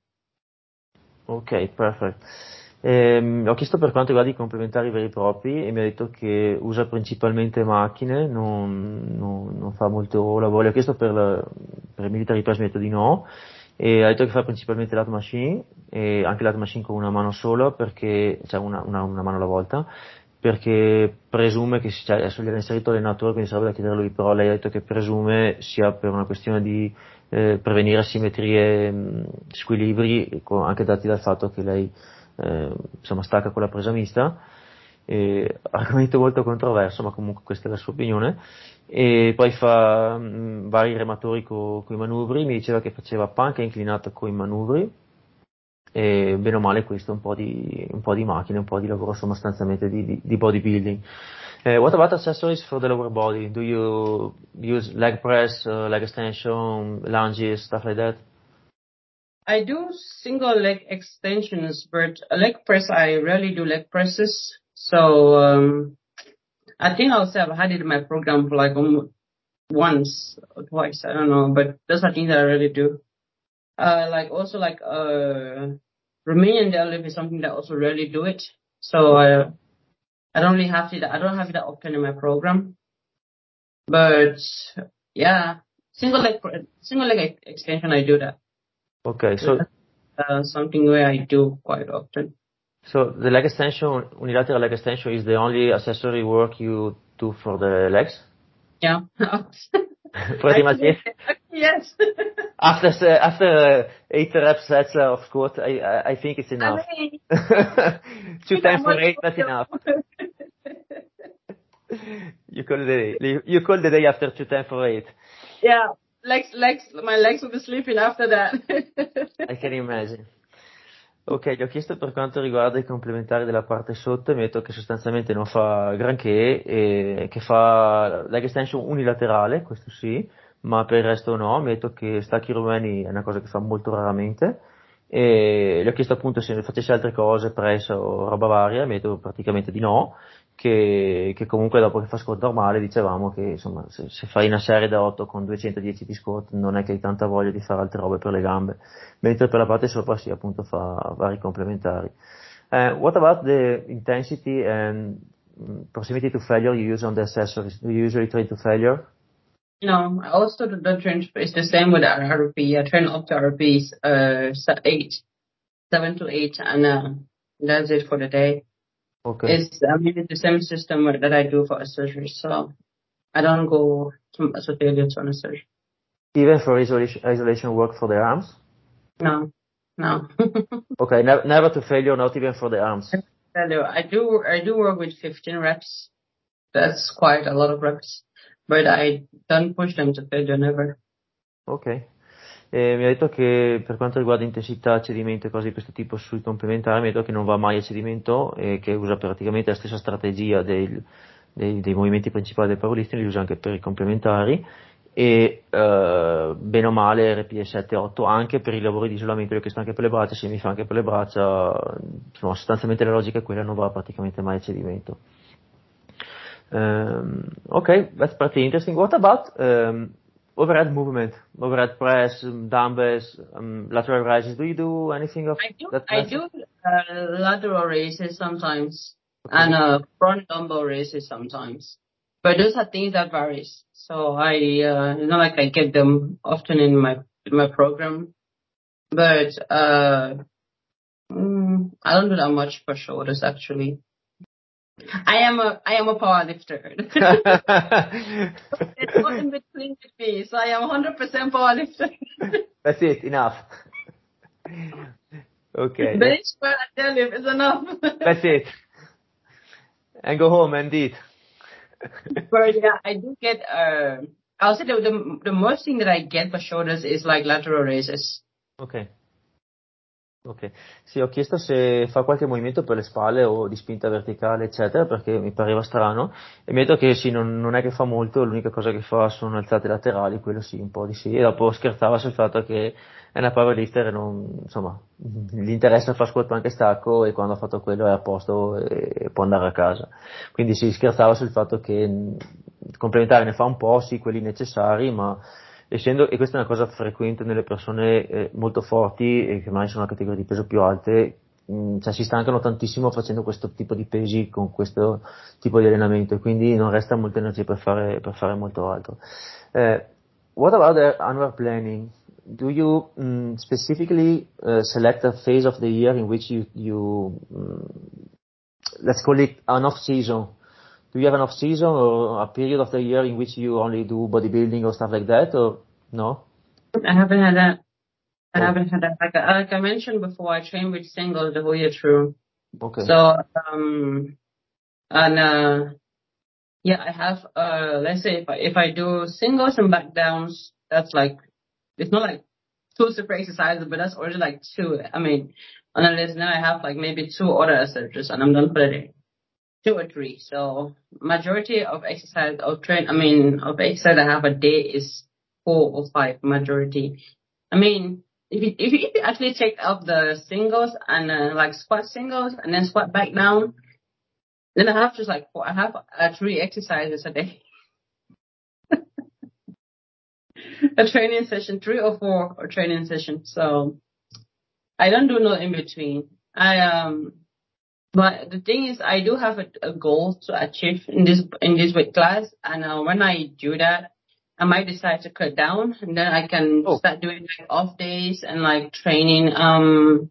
Ok, perfetto. Ehm, ho chiesto per quanto riguarda i complementari veri e propri e mi ha detto che usa principalmente macchine, non, non- non fa molto lavoro. Ho chiesto per, la- per il military press, mi ha detto di no, e ha detto che fa principalmente lat machine, e anche lat machine con una mano sola, perché, cioè una, una- una mano alla volta, perché presume che, si- cioè adesso gli ha inserito l'allenatore, quindi sarebbe da chiedere a lui, però lei ha detto che presume sia per una questione di eh, prevenire asimmetrie, mh, squilibri, co- anche dati dal fatto che lei eh, insomma stacca con la presa mista. E, argomento molto controverso, ma comunque questa è la sua opinione. E poi fa mh, vari rematori con i manubri, mi diceva che faceva panca inclinata con i manubri, e bene o male questo è un po' di, un po' di macchine, un po' di lavoro sostanzialmente di, di, di bodybuilding. Uh, what about accessories for the lower body? Do you use leg press, uh, leg extension, lunges, stuff like that? I do single leg extensions, but a leg press I rarely do leg presses. So um, I think I'll say I've had it in my program for like almost once or twice. I don't know, but those are things that I really do. Uh, like also like uh, Romanian deadlift is something that I also rarely do it. So I I don't really have it. I don't have it that often in my program. But yeah, single leg single leg ex- extension I do that. Okay, So so that's uh, something where I do quite often. so the leg extension, unilateral leg extension, is the only accessory work you do for the legs? Yeah. Pretty much yes. Actually, yes. After s- after uh, eight reps sets uh, of squat, I I I think it's I enough. mean, Two if I times for must eight, that's enough. You call the day. You you call the day after two times for eight. yeah, legs, legs, my legs will be sleeping after that. I can imagine. Ok, gli ho chiesto per quanto riguarda i complementari della parte sotto e mi ha detto che sostanzialmente non fa granché e che fa leg extension unilaterale, questo sì, ma per il resto no. Mi ha detto che stacchi romani è una cosa che fa molto raramente e gli ho chiesto appunto se facesse altre cose, press o roba varia, mi ha detto praticamente di no, che, che comunque dopo che fa squat normale dicevamo che insomma se, se fai una serie da otto con duecentodieci di squat non è che hai tanta voglia di fare altre robe per le gambe, mentre per la parte sopra sì, appunto fa vari complementari. Uh, what about the intensity and mm, proximity to failure you use on the accessories? Do you usually train to failure? no, I also do the train. It's the same with R R P. I train up to R R Ps, uh, se- eight, seven to eight, and uh, that's it for the day. Okay. It's I mean it's the same system that I do for a surgery, so I don't go to associated on a surgery. Even for isolation, isolation work for the arms? No, no. Okay, ne- never to failure, not even for the arms. Hello. I do I do work with fifteen reps. That's quite a lot of reps, but I don't push them to failure never. Ok. E mi ha detto che per quanto riguarda intensità, cedimento e cose di questo tipo sui complementari, mi ha detto che non va mai a cedimento e che usa praticamente la stessa strategia dei, dei- dei movimenti principali del powerlifting, li usa anche per i complementari e eh, bene o male R P E sette otto anche per i lavori di isolamento, io che sto anche per le braccia, se mi fa anche per le braccia, insomma sostanzialmente la logica è quella, non va praticamente mai a cedimento. Um, okay, that's pretty interesting. What about um, overhead movement, overhead press, um, dumbbells, um, lateral raises? Do you do anything of I do that I nature? do uh, lateral raises sometimes Okay. and uh, front dumbbell raises sometimes, but those are things that varies. So I uh, it's not like I get them often in my in my program, but uh, mm, I don't do that much for shoulders actually. I am a I am a power lifter. It's not in between with me, so I am one hundred percent power lifter. That's it, enough. Okay. Bench squat and deadlift is enough. That's it. And go home and eat. But yeah, I do get. Uh, I'll say the, the the most thing that I get for shoulders is like lateral raises. Ok. Ok. Sì, ho chiesto se fa qualche movimento per le spalle o di spinta verticale, eccetera, perché mi pareva strano. E mi ha detto che sì, non, non è che fa molto, l'unica cosa che fa sono alzate laterali, quello sì, un po' di sì. E dopo scherzava sul fatto che è una powerlifter e non, insomma, gli interessa fare squat anche stacco e quando ha fatto quello è a posto e può andare a casa. Quindi sì, scherzava sul fatto che mh, complementare ne fa un po', sì, quelli necessari, ma essendo, e questa è una cosa frequente nelle persone eh, molto forti e che magari sono una categoria di peso più alte, mh, cioè si stancano tantissimo facendo questo tipo di pesi con questo tipo di allenamento e quindi non resta molta energia per fare, per fare molto altro. Eh, what about the annual planning? Do you um, specifically uh, select a phase of the year in which you, you um, let's call it an off season? Do you have an off season or a period of the year in which you only do bodybuilding or stuff like that, or no? I haven't had that. I Oh, haven't had that. Like, I- like I mentioned before, I train with singles the whole year through. okay. So um and uh yeah, I have uh let's say if I if I do singles and back downs, that's like it's not like two separate exercises, but that's already like two. I mean, on the list now I have like maybe two other exercises and I'm done for the day. Two or three. So majority of exercise of train I mean of exercise I have a day is four or five majority. I mean if you if you, if you actually take up the singles and uh, like squat singles and then squat back down, then I have just like four, I have uh, three exercises a day. A training session, three or four or training session. So I don't do no in between. I um but the thing is I do have a, a goal to achieve in this in this weight class and uh, when I do that I might decide to cut down and then I can Oh, start doing like off days and like training um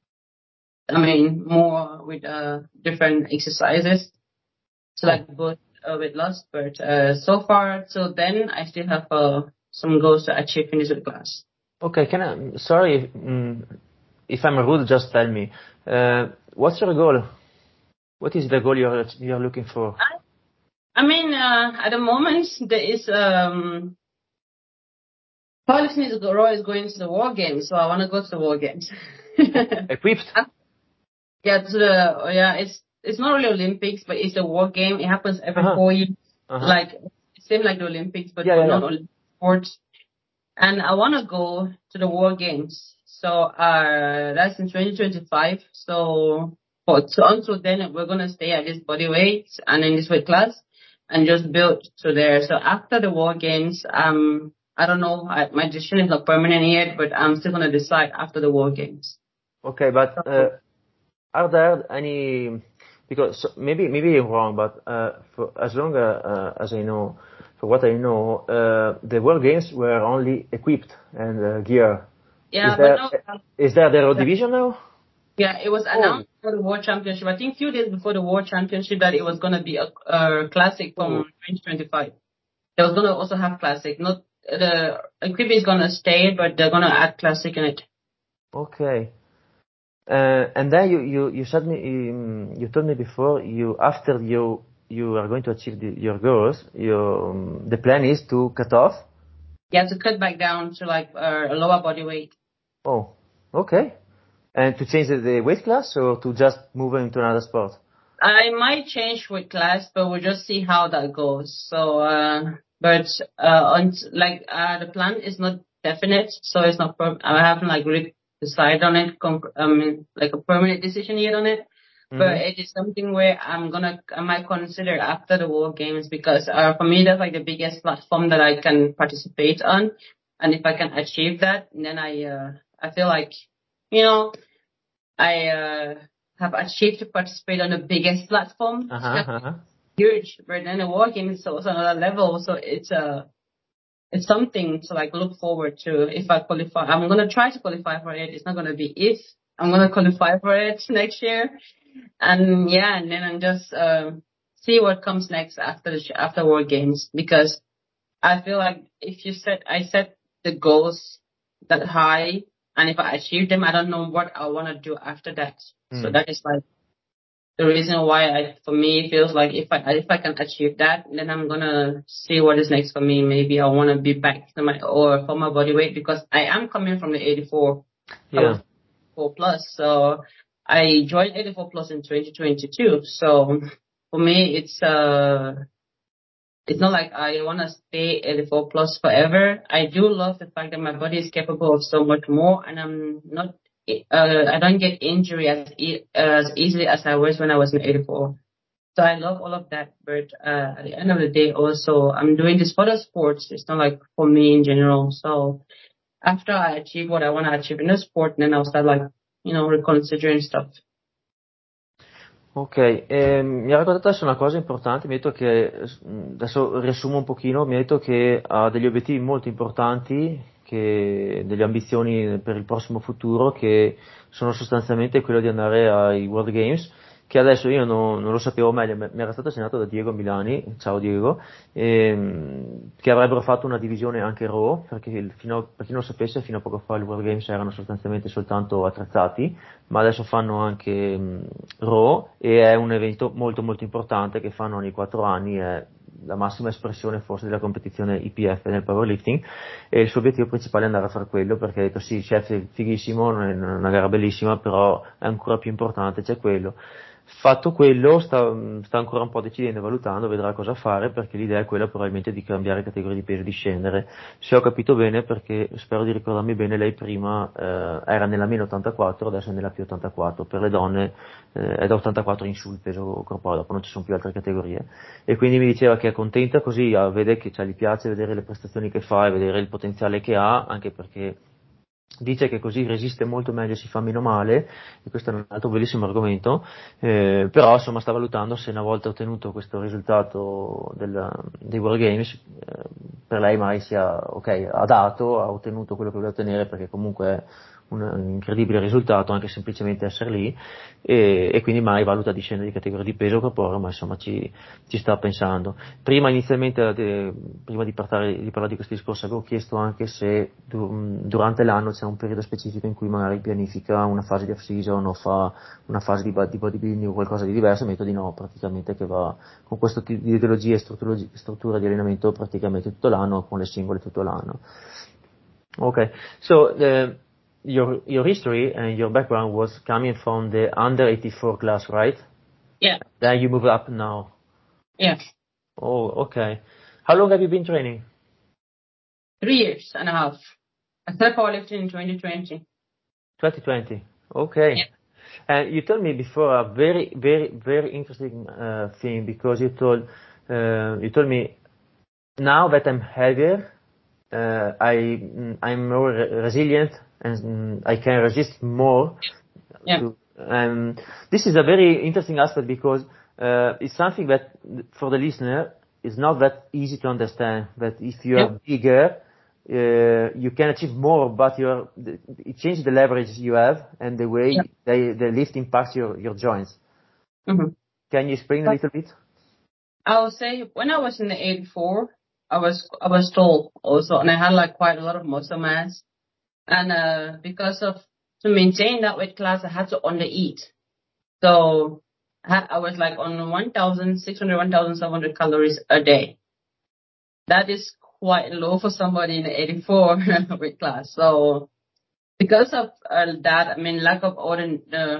I mean more with uh different exercises to oh, like both uh, weight loss but uh so far till then I still have uh some goals to achieve in this weight class. okay. Can I? Sorry, mm, if I'm rude, just tell me. Uh, what's your goal? What is the goal you're you're looking for? I, I mean uh at the moment there is um Powerlifting is Raw is going to the War Games, so I want to go to the War Games. Equipped? Yeah, to the oh, yeah, it's it's not really Olympics, but it's a War Game. It happens Uh every huh. four years, Uh huh. like same like the Olympics, but Yeah, for yeah, yeah. non-Olympic sports. And I want to go to the War Games. So uh, that's in twenty twenty-five. So for so until then, we're gonna stay at this body weight and in this weight class, and just build to there. So after the War Games, um, I don't know. I, my decision is not permanent yet, but I'm still gonna decide after the War Games. Okay, but uh, are there any? Because so- maybe maybe I'm wrong, but uh, for as long uh, uh, as I know, for what I know, uh, the World Games were only equipped and uh, gear. Is Yeah, but there no. is there the road division now? Yeah, it was Oh, announced for the World Championship. I think a few days before the World Championship that it was gonna be a, a classic oh, from twenty twenty-five. They was gonna also have classic. Not the equipment is gonna stay, but they're gonna add classic in it. okay. Uh, and then you you you said me um, you told me before you after you you are going to achieve the, your goals. Your um, the plan is to cut off. You have to cut back down to like uh, a lower body weight. Oh, okay. And to change the, the weight class or to just move into another sport? I might change with class, but we'll just see how that goes. So, uh, but uh, on like uh, the plan is not definite, so it's not. Per- I haven't like really decided on it. Conc- I mean, like a permanent decision yet on it. But Mm-hmm. it is something where I'm gonna, I might consider after the World Games because uh, for me that's like the biggest platform that I can participate on, and if I can achieve that, then I, uh, I feel like, you know, I uh, have achieved to participate on the biggest platform. Uh It's huh. kind Uh huh. of huge, but then the War Games is also another level, so it's a, uh, it's something to like look forward to if I qualify. I'm gonna try to qualify for it. It's not gonna be if I'm gonna qualify for it next year. and yeah, and then I'm just uh, see what comes next after the sh- after World Games, because I feel like if you set I set the goals that high, and if I achieve them, I don't know what I want to do after that. So Mm. that is like the reason why I, for me, it feels like if I if I can achieve that, then I'm gonna see what is next for me. Maybe I want to be back to my or for my body weight, because I am coming from the eighty-four. I Yeah. was four plus, so I joined eighty-four plus in twenty twenty-two. So for me, it's uh it's not like I want to stay eighty-four plus forever. I do love the fact that my body is capable of so much more, and I'm not, uh, I don't get injury as, e- as easily as I was when I was in eighty-four. So I love all of that, but uh, at the end of the day, also I'm doing this for the sports. It's not like for me in general. So after I achieve what I want to achieve in the sport, then I'll start like, you know, reconsidering stuff. Ok, e mi ha raccontato adesso una cosa importante, mi ha detto che, adesso riassumo un pochino, mi ha detto che ha degli obiettivi molto importanti, che, delle ambizioni per il prossimo futuro, che sono sostanzialmente quello di andare ai World Games, che adesso io non, non lo sapevo meglio, mi era stato assegnato da Diego Milani, ciao Diego, ehm, che avrebbero fatto una divisione anche Raw, perché il- fino a- per chi non lo sapesse, fino a poco fa i World Games erano sostanzialmente soltanto attrezzati, ma adesso fanno anche mh, Raw, e è un evento molto molto importante che fanno ogni quattro anni, è la massima espressione forse della competizione I P F nel powerlifting, e il suo obiettivo principale è andare a fare quello, perché ha detto sì, chef è fighissimo, è una gara bellissima, però è ancora più importante, c'è quello. Fatto quello, sta, sta ancora un po' decidendo e valutando, vedrà cosa fare, perché l'idea è quella probabilmente di cambiare categoria di peso e di scendere. Se ho capito bene, perché spero di ricordarmi bene, lei prima eh, era nella meno ottantaquattro, adesso è nella più ottantaquattro. Per le donne eh, è da ottantaquattro in su il peso corporeo, dopo non ci sono più altre categorie. E quindi mi diceva che è contenta così, ah, vede che cioè, gli piace vedere le prestazioni che fa e vedere il potenziale che ha, anche perché dice che così resiste molto meglio e si fa meno male, e questo è un altro bellissimo argomento, eh, però insomma sta valutando se una volta ottenuto questo risultato del, dei World Games, eh, per lei mai sia ok, ha dato, ha ottenuto quello che voleva ottenere, perché comunque è un, un incredibile risultato anche semplicemente essere lì, e, e quindi mai valuta di scendere di categoria di peso corporeo, ma insomma ci, ci sta pensando. Prima inizialmente, eh, prima di parlare, di parlare di questi discorsi, avevo chiesto anche se du- durante l'anno c'è un periodo specifico in cui magari pianifica una fase di off-season o fa una fase di, di bodybuilding o qualcosa di diverso, mi ha detto di no, praticamente che va con questo tipo di ideologia e struttura, struttura di allenamento praticamente tutto l'anno, con le singole tutto l'anno. Okay, so uh, your your history and your background was coming from the under eighty-four class, right? Yeah, Then you move up now. yeah. Oh, okay. How long have you been training? Three years and a half. I started powerlifting in twenty twenty. twenty twenty. Okay. And you told me before a very, very, very interesting uh, thing, because you told uh, you told me now that I'm heavier, uh, I mm, I'm more re- resilient, and mm, I can resist more. Yeah. To, and this is a very interesting aspect, because uh, it's something that for the listener is not that easy to understand. That if you Yeah. are bigger, uh, you can achieve more, but you're, it changes the leverage you have and the Yeah. way they, the lift impacts your, your joints. Mm-hmm. Can you explain a little bit? I would say when I was in the eighty-four, I was I was tall also, and I had like quite a lot of muscle mass. And uh, because of to maintain that weight class, I had to undereat. So I, had, I was like on one thousand six hundred, one thousand seven hundred calories a day. That is quite low for somebody in the eighty-four weight class. So because of uh, that, I mean, lack of order, uh,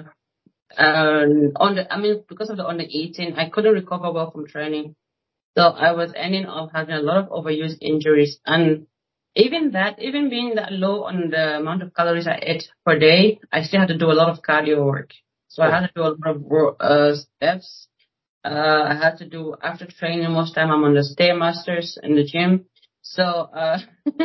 uh, on the, I mean, because of the under eating, I couldn't recover well from training. So I was ending up having a lot of overuse injuries. And even that, even being that low on the amount of calories I ate per day, I still had to do a lot of cardio work. So I Oh. had to do a lot of wo- uh, steps. Uh, I had to do after training. Most time I'm on the Stairmasters in the gym. So uh,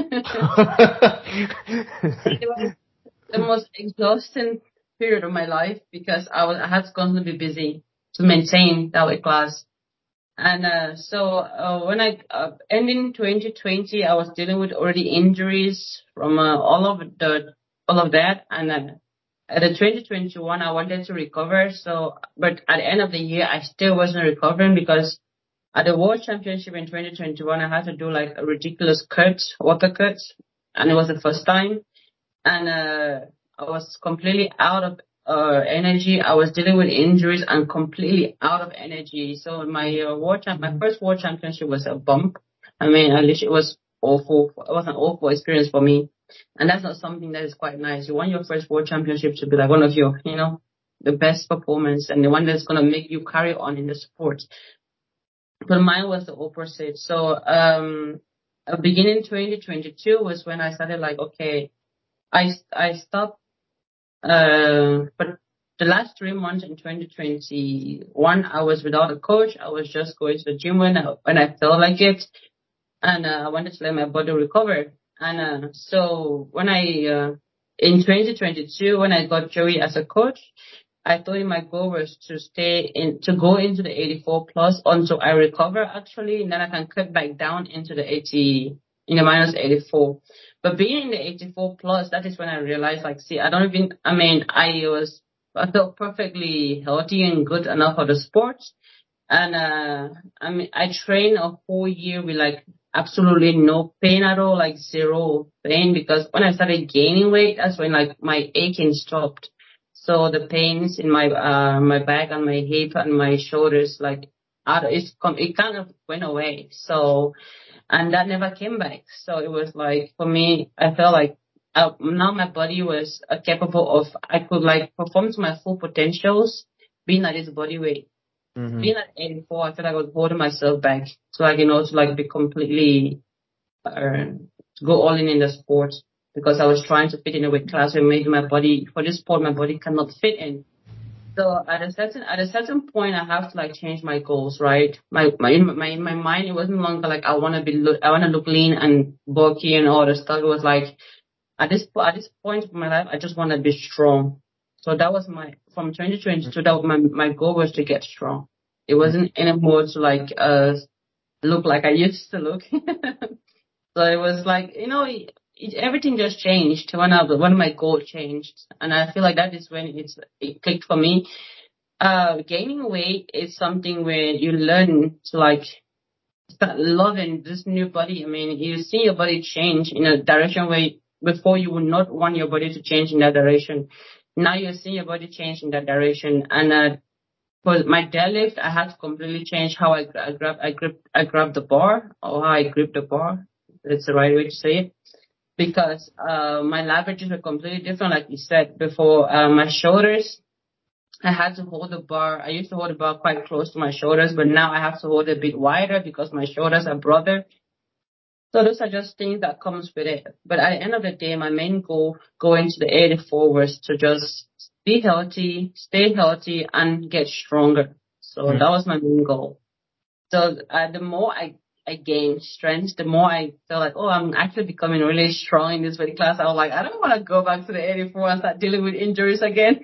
it was the most exhausting period of my life, because I was I had to constantly be busy to maintain that weight class. And uh, so uh, when I uh, ending twenty twenty, I was dealing with already injuries from uh, all of the all of that, and uh, at the twenty twenty-one, I wanted to recover. So, but at the end of the year, I still wasn't recovering because at the World Championship in twenty twenty-one, I had to do like a ridiculous cut, water cut, and it was the first time. And uh, I was completely out of uh, energy. I was dealing with injuries and completely out of energy. So my uh, world champ, my first World Championship was a bump. I mean, at least it was awful. It was an awful experience for me. And that's not something that is quite nice. You want your first World Championship to be like one of your, you know, the best performance and the one that's going to make you carry on in the sport. But mine was the opposite. So, um, uh, beginning twenty twenty-two was when I started like, okay, I, I stopped, uh, but the last three months in twenty twenty-one, I was without a coach. I was just going to the gym when I, when I felt like it. And, uh, I wanted to let my body recover. And, uh, so when I, uh, in twenty twenty-two, when I got Joey as a coach, I thought my goal was to stay in, to go into the eighty-four plus until I recover actually, and then I can cut back down into the eighty, in the minus eighty-four. But being in the eighty-four plus, that is when I realized like, see, I don't even, I mean, I was, I felt perfectly healthy and good enough for the sport. And, uh, I mean, I trained a whole year with like absolutely no pain at all, like zero pain, because when I started gaining weight, that's when like my aching stopped. So the pains in my uh my back and my hip and my shoulders, like, out, it's com- it kind of went away. So, and that never came back. So it was like for me, I felt like uh, now my body was uh, capable of, I could like perform to my full potentials, being at this body weight. Mm-hmm. Being at eighty-four, I feel like I was holding myself back, so I can also like be completely uh, go all in in the sport, because I was trying to fit in a weight class where maybe my body, for this sport, my body cannot fit in. So at a certain at a certain point, I have to like change my goals, right? My my in my in my mind, it wasn't longer like I want to be look, I want to look lean and bulky and all the stuff. It was like at this po- at this point of my life, I just want to be strong. So that was my, from twenty twenty-two. That was my my goal was to get strong. It wasn't anymore to like uh look like I used to look. So it was like, you know, it, it, everything just changed when I, when my goal changed, and I feel like that is when it's it clicked for me. Uh, gaining weight is something where you learn to like start loving this new body. I mean, you see your body change in a direction where before you would not want your body to change in that direction. Now you're seeing your body change in that direction, and uh, for my deadlift, I had to completely change how I, I grab, I grip, I grab the bar, or how I grip the bar. That's the right way to say it. Because, uh, my leverages were completely different, like you said before. Uh, my shoulders, I had to hold the bar. I used to hold the bar quite close to my shoulders, but now I have to hold it a bit wider because my shoulders are broader. So those are just things that comes with it. But at the end of the day, my main goal going to the eighty-four was to just be healthy, stay healthy, and get stronger. So Mm. that was my main goal. So uh, the more I, I gained strength, the more I felt like, oh, I'm actually becoming really strong in this weight class. I was like, I don't want to go back to the eighty-four and start dealing with injuries again.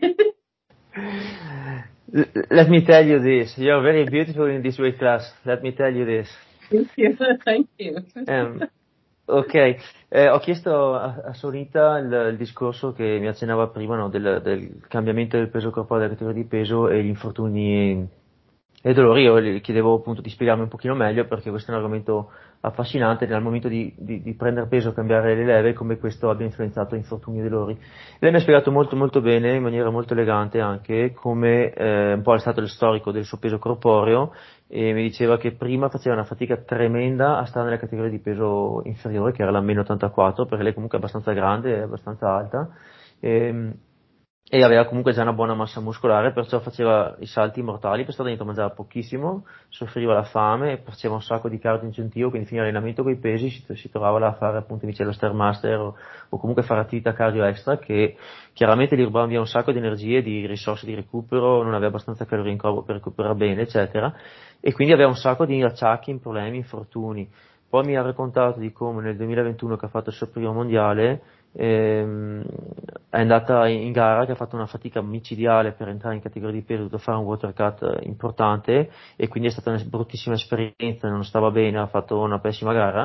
L- let me tell you this. You're very beautiful in this weight class. Let me tell you this. Thank you. Thank you. Um, ok, eh, ho chiesto a, a Sorita il, il discorso che mi accennava prima, no, del, del cambiamento del peso corporale, della categoria di peso e gli infortuni e dolori. Io le chiedevo appunto di spiegarmi un pochino meglio, perché questo è un argomento affascinante nel momento di, di, di prendere peso, cambiare le leve, come questo abbia influenzato infortuni e dolori. Lei mi ha spiegato molto molto bene, in maniera molto elegante anche, come eh, un po' è stato il storico del suo peso corporeo, e mi diceva che prima faceva una fatica tremenda a stare nella categoria di peso inferiore, che era la meno ottantaquattro, perché lei comunque è abbastanza grande, è abbastanza alta, e, e aveva comunque già una buona massa muscolare, perciò faceva i salti mortali per stare dentro, mangiava pochissimo, soffriva la fame, faceva un sacco di cardio incentivo, quindi fino all'allenamento con i pesi si, si trovava là a fare appunto invece lo Stairmaster o, o comunque fare attività cardio extra, che chiaramente gli rubavano via un sacco di energie, di risorse di recupero, non aveva abbastanza calorie in corpo per recuperare bene, eccetera, e quindi aveva un sacco di acciacchi, problemi, infortuni. Poi mi ha raccontato di come nel duemilaventuno, che ha fatto il suo primo mondiale, ehm, è andata in gara, che ha fatto una fatica micidiale per entrare in categoria di peso, ha dovuto fare un water cut importante, e quindi è stata una bruttissima esperienza, non stava bene, ha fatto una pessima gara,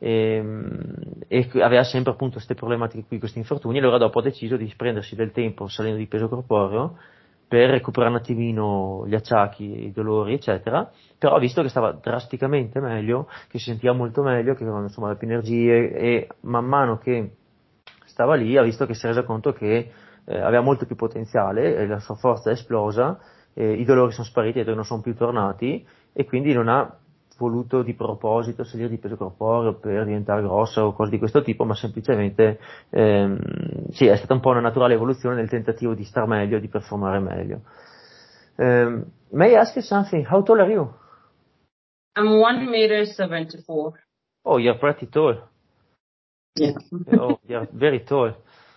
e, e aveva sempre appunto queste problematiche qui, questi infortuni, e allora dopo ha deciso di prendersi del tempo salendo di peso corporeo per recuperare un attimino gli acciacchi, i dolori, eccetera, però ha visto che stava drasticamente meglio, che si sentiva molto meglio, che aveva insomma più energie, e man mano che stava lì ha visto che si è reso conto che eh, aveva molto più potenziale, e la sua forza è esplosa, eh, i dolori sono spariti e non sono più tornati, e quindi non ha voluto di proposito salire di peso corporeo per diventare grossa o cose di questo tipo, ma semplicemente ehm, sì, è stata un po' una naturale evoluzione nel tentativo di star meglio, di performare meglio. Um, may I ask you something? How tall are you? I'm one meter seventy-four. Oh, you're pretty tall. Yeah. Oh, you're very tall.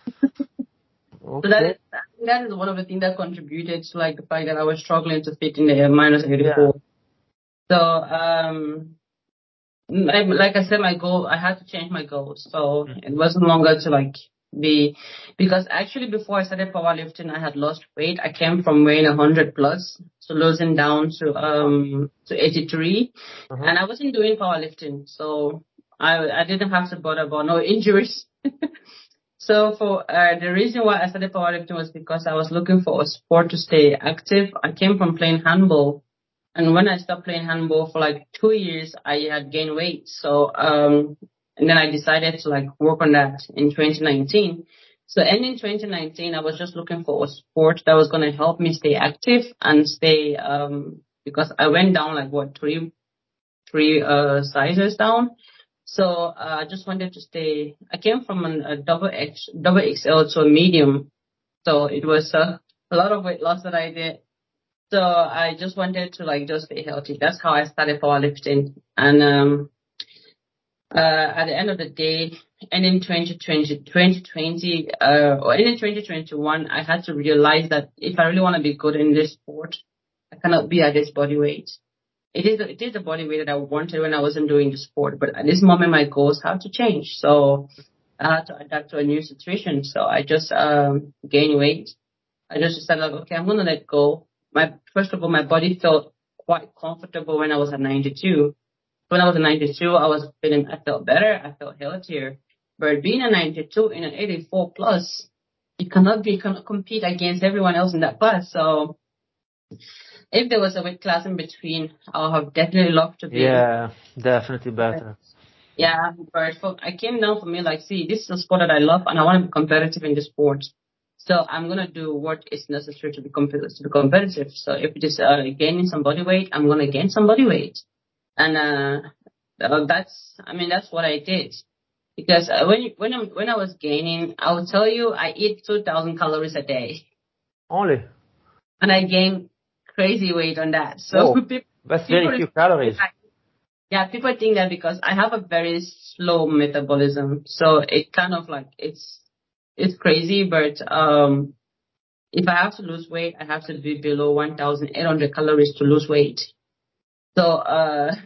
So that Okay. is, that is one of the things that contributed to like the fact that I was struggling to fit in the minus eighty-four. Yeah. So, um, like, like I said, my goal, I had to change my goals. So Mm. it wasn't longer to like be, because actually before I started powerlifting, I had lost weight. I came from weighing one hundred plus, so losing down to, um, to eighty-three. Uh-huh. And I wasn't doing powerlifting. So I, I didn't have to bother about no injuries. So for uh, the reason why I started powerlifting was because I was looking for a sport to stay active. I came from playing handball, and when I stopped playing handball for like two years, I had gained weight. So um, and then I decided to like work on that in twenty nineteen. So ending twenty nineteen, I was just looking for a sport that was going to help me stay active and stay um because I went down like what three three uh sizes down. So uh, I just wanted to stay. I came from an, a double X, double X L to a medium, so it was uh, a lot of weight loss that I did. So I just wanted to like just stay healthy. That's how I started powerlifting. And um, uh, at the end of the day, and in twenty twenty, twenty twenty, uh, or in twenty twenty-one, I had to realize that if I really want to be good in this sport, I cannot be at this body weight. It is, it is the body weight that I wanted when I wasn't doing the sport, but at this moment my goals have to change. So I had to adapt to a new situation. So I just um gained weight. I just decided like, okay, I'm gonna let go. My first of all, my body felt quite comfortable when I was at ninety-two. When I was at ninety-two, I was feeling, I felt better, I felt healthier. But being a ninety-two in an eighty-four plus, you cannot be, you cannot compete against everyone else in that class. So if there was a weight class in between, I would have definitely loved to be. Yeah, definitely better. Yeah, but for, I came down for me like, see, this is a sport that I love and I want to be competitive in this sport. So I'm going to do what is necessary to be, competitive, to be competitive. So if it is uh, gaining some body weight, I'm going to gain some body weight. And uh, uh, that's, I mean, that's what I did. Because uh, when, when, I'm, when I was gaining, I will tell you, I eat two thousand calories a day. Only? And I gained crazy weight on that. So Whoa, people, that's people very few calories. Yeah, people think that because I have a very slow metabolism, so it kind of like it's it's crazy. But um, if I have to lose weight, I have to be below one thousand eight hundred calories to lose weight. So uh,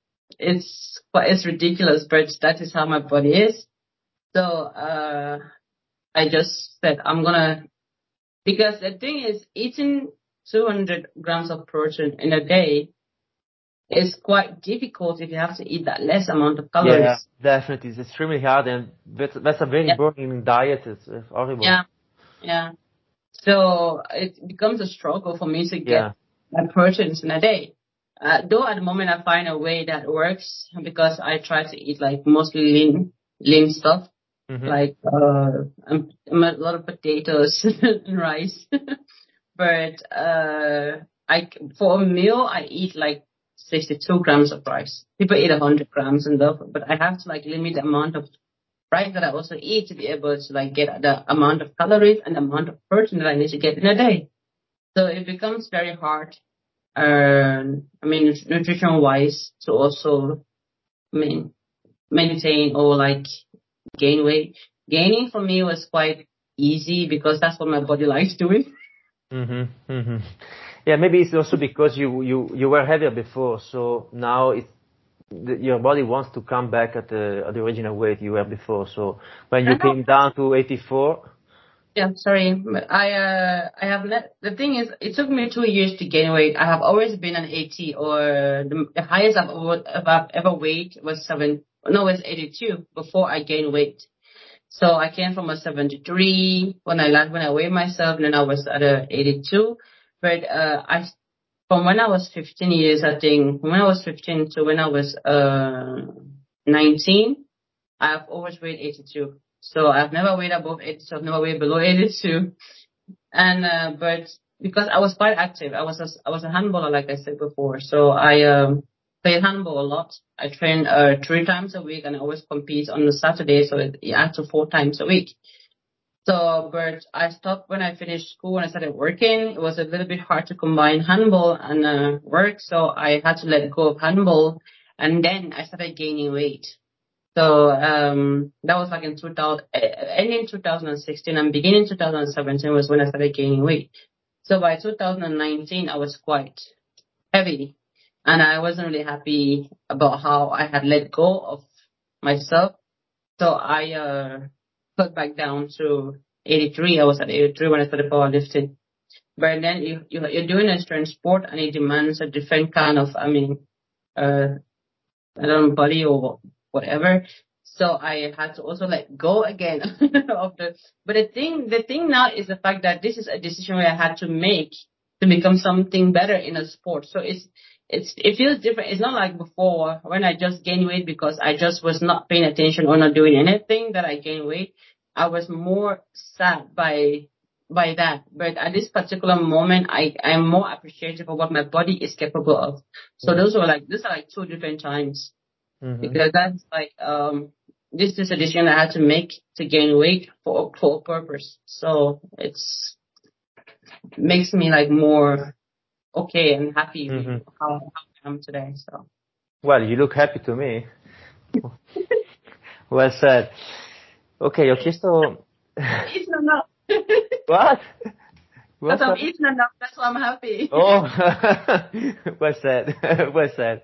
it's it's ridiculous, but that is how my body is. So uh, I just said I'm gonna, because the thing is eating two hundred grams of protein in a day is quite difficult if you have to eat that less amount of calories. Yeah, definitely. It's extremely hard, and that's, that's a very Yeah. burning diet. It's, it's horrible. Yeah, yeah. So it becomes a struggle for me to get Yeah. my proteins in a day. Uh, though at the moment I find a way that works because I try to eat like mostly lean, lean stuff, Mm-hmm. like uh, um, a lot of potatoes and rice. But uh, I for a meal I eat like sixty-two grams of rice. People eat one hundred grams and stuff, but I have to like limit the amount of rice that I also eat to be able to like get the amount of calories and the amount of protein that I need to get in a day. So it becomes very hard, um, I mean, nutrition wise, to also, I mean, maintain or like gain weight. Gaining for me was quite easy because that's what my body likes doing. Mm-hmm. Mm-hmm. Yeah, maybe it's also because you, you, you were heavier before, so now it's, the, your body wants to come back at the, at the original weight you were before. So when you came down to eighty-four. Yeah, sorry. But I uh I have met, the thing is it took me two years to gain weight. I have always been an eighty, or the, the highest I've ever, I've ever weighed was seven no, it's eighty-two before I gained weight. So I came from a seventy-three when I last, when I weighed myself, and then I was at a eighty-two. But, uh, I, from when I was fifteen years, I think, when I was fifteen to when I was, uh, nineteen, I've always weighed eighty-two. So I've never weighed above eighty-two. I've never weighed below eighty-two. And, uh, but because I was quite active, I was a, I was a handballer, like I said before. So I, um, played handball a lot. I train, uh, three times a week, and I always compete on the Saturday. So it, it adds to four times a week. So, but I stopped when I finished school and I started working. It was a little bit hard to combine handball and, uh, work. So I had to let go of handball. And then I started gaining weight. So, um, that was like in two thousand, ending two thousand sixteen and beginning two thousand seventeen was when I started gaining weight. So by two thousand nineteen, I was quite heavy, and I wasn't really happy about how I had let go of myself. So I, uh, cut back down to eighty-three. I was at eighty-three when I started powerlifting. But then you, you, you're doing a strength sport, and it demands a different kind of, I mean, uh, I don't know, body or whatever. So I had to also let go again of the, but the thing, the thing now is the fact that this is a decision where I had to make to become something better in a sport. So it's, it's, it feels different. It's not like before when I just gained weight because I just was not paying attention or not doing anything that I gained weight. I was more sad by, by that. But at this particular moment, I, I'm more appreciative of what my body is capable of. So those were like, these are like two different times. Mm-hmm. Because that's like, um, this is a decision I had to make to gain weight for, for a purpose. So it's, makes me like more okay and happy mm-hmm. with how, how I am today. So. Well, you look happy to me. Well said. Ok, ho chiesto... Eaten enough. What? Because I'm eating enough, that's why I'm happy. Oh, well said, well said.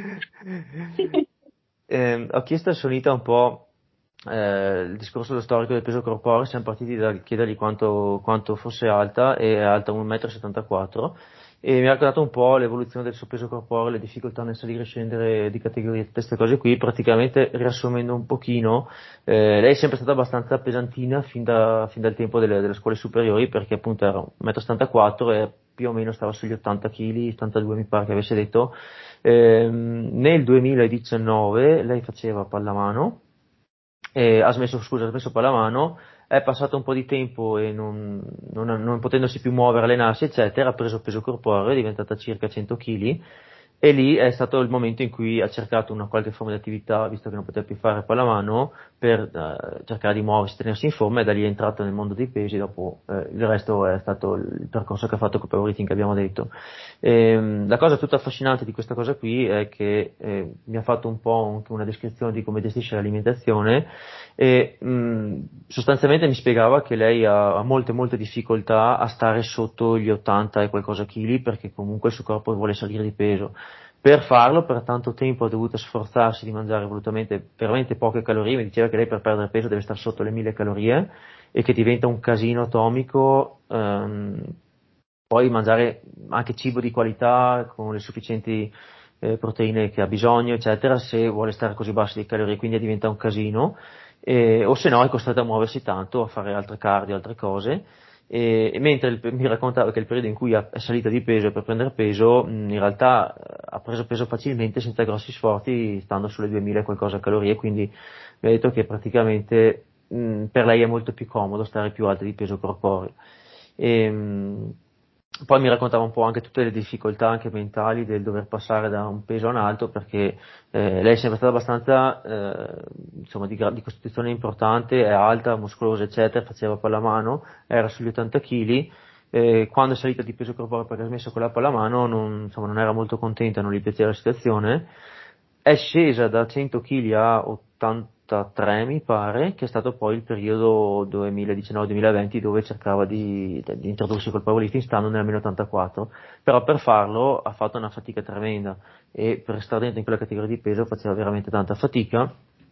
eh, ho chiesto a Sonita un po' eh, il discorso dello storico del peso corporeo. Siamo partiti da chiedergli quanto, quanto fosse alta, e è alta uno virgola settantaquattro metri, e mi ha raccontato un po' l'evoluzione del suo peso corporeo, le difficoltà nel salire e scendere di categoria, tutte queste cose qui. Praticamente, riassumendo un pochino, eh, lei è sempre stata abbastanza pesantina fin, da, fin dal tempo delle, delle scuole superiori, perché appunto era uno virgola settantaquattro metri e più o meno stava sugli ottanta chili, ottantadue mi pare che avesse detto. Eh, nel duemiladiciannove lei faceva pallamano, eh, ha smesso, scusa, ha smesso pallamano, è passato un po' di tempo e non, non, non potendosi più muovere, allenarsi, eccetera, ha preso peso corporeo, è diventata circa cento chili, e lì è stato il momento in cui ha cercato una qualche forma di attività, visto che non poteva più fare pallamano, per eh, cercare di muoversi, tenersi in forma, e da lì è entrata nel mondo dei pesi. Dopo eh, il resto è stato il percorso che ha fatto con Powerlifting, che abbiamo detto. E, la cosa tutta affascinante di questa cosa qui è che eh, mi ha fatto un po' anche una descrizione di come gestisce l'alimentazione, e mh, sostanzialmente mi spiegava che lei ha, ha molte molte difficoltà a stare sotto gli ottanta e qualcosa chili, perché comunque il suo corpo vuole salire di peso. Per farlo, per tanto tempo ha dovuto sforzarsi di mangiare volutamente veramente poche calorie. Mi diceva che lei per perdere peso deve stare sotto le mille calorie, e che diventa un casino atomico ehm, poi mangiare anche cibo di qualità con le sufficienti eh, proteine che ha bisogno, eccetera, se vuole stare così bassi di calorie. Quindi diventa un casino, eh, o se no è costretta a muoversi tanto, a fare altre cardio, altre cose. E, e mentre il, mi raccontava che il periodo in cui ha, è salita di peso per prendere peso, mh, in realtà ha preso peso facilmente, senza grossi sforzi, stando sulle duemila e qualcosa calorie. Quindi mi ha detto che praticamente mh, per lei è molto più comodo stare più alta di peso corporeo. E, mh, poi mi raccontava un po' anche tutte le difficoltà anche mentali del dover passare da un peso a un altro, perché eh, lei è sempre stata abbastanza eh, insomma di, di costituzione importante, è alta, muscolosa, eccetera, faceva pallamano, era sugli ottanta chili. Eh, quando è salita di peso corporeo perché ha smesso con la pallamano, non, insomma, non era molto contenta, non gli piaceva la situazione. È scesa da cento chili a ottantatré, mi pare, che è stato poi il periodo duemiladiciannove duemilaventi, dove cercava di, di introdursi col powerlifting, stando nell'almeno ottantaquattro. Però per farlo ha fatto una fatica tremenda, e per stare dentro in quella categoria di peso faceva veramente tanta fatica.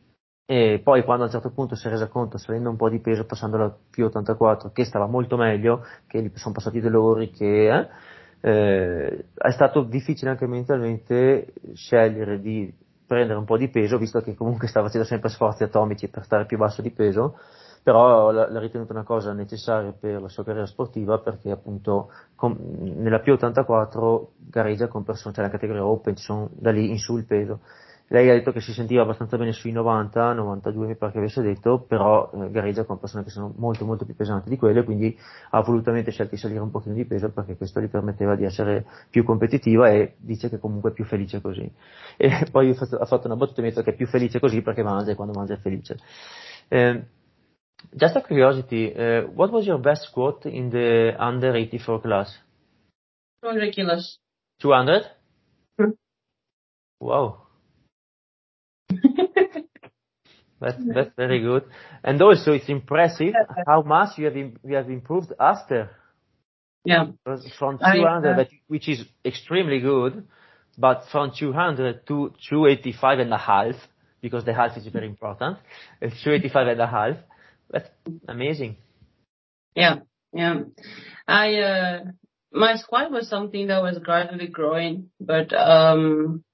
E poi, quando a un certo punto si è resa conto, salendo un po' di peso, passando alla più ottantaquattro, che stava molto meglio, che gli sono passati dolori, che eh, eh, è stato difficile anche mentalmente scegliere di prendere un po' di peso, visto che comunque sta facendo sempre sforzi atomici per stare più basso di peso, però l'ha, l'ha ritenuta una cosa necessaria per la sua carriera sportiva, perché appunto com, nella P ottantaquattro gareggia con persone, cioè la categoria Open, ci sono da lì in su il peso. Lei ha detto che si sentiva abbastanza bene sui novanta, novantadue mi pare che avesse detto, però eh, gareggia con persone che sono molto molto più pesanti di quelle, quindi ha volutamente scelto di salire un pochino di peso perché questo gli permetteva di essere più competitiva, e dice che comunque è più felice così. E poi ha fatto una battuta e mi ha detto che è più felice così perché mangia, e quando mangia è felice. Eh, just a curiosity, uh, what was your best squat in the under eighty-four class? two hundred kilos. two hundred? Hmm. Wow. That's that's very good, and also it's impressive how much you have im- you have improved after. Yeah. From I, two hundred, uh, that, which is extremely good, but from two hundred to two eighty-five and a half, because the half is very important. It's two eighty-five and a half. That's amazing. yeah, yeah. I, uh, my squat was something that was gradually growing, but, um,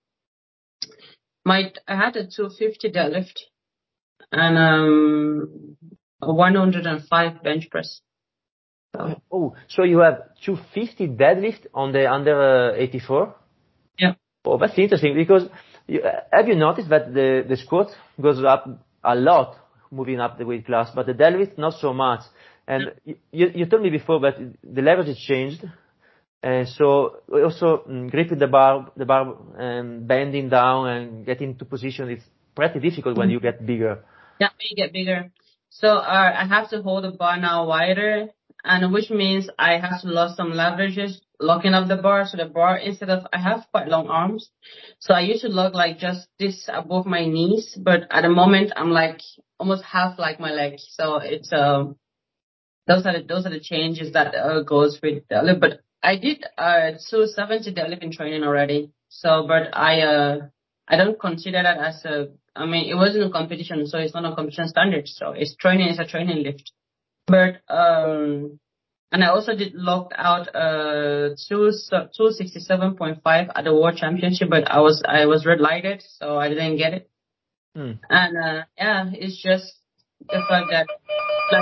my, I had a two fifty deadlift and, um, a one hundred five bench press. So, Oh, so you have two fifty deadlift on the under uh, eighty-four? yeah. Oh, that's interesting, because you, uh, have you noticed that the, the squat goes up a lot moving up the weight class, but the deadlift not so much. And you, you told me before that the leverage has changed, and so also um, gripping the bar, the bar, and bending down and getting into position is pretty difficult when you get bigger. Yeah, when you get bigger. So, uh, I have to hold the bar now wider, and which means I have to lose some leverages, locking up the bar. So the bar, instead of, I have quite long arms. So I used to lock like just this above my knees, but at the moment I'm like almost half like my leg. So it's, um, those are the, those are the changes that uh, goes with deadlift. But I did, uh, two seventy deadlift in training already. So, but I, uh, I don't consider that as a, I mean, it wasn't a competition, so it's not a competition standard. So it's training, it's a training lift. But, um, and I also did locked out, uh, two, two sixty-seven point five at the World Championship, but I was, I was red lighted, so I didn't get it. Hmm. And, uh, yeah, it's just the fact that, like,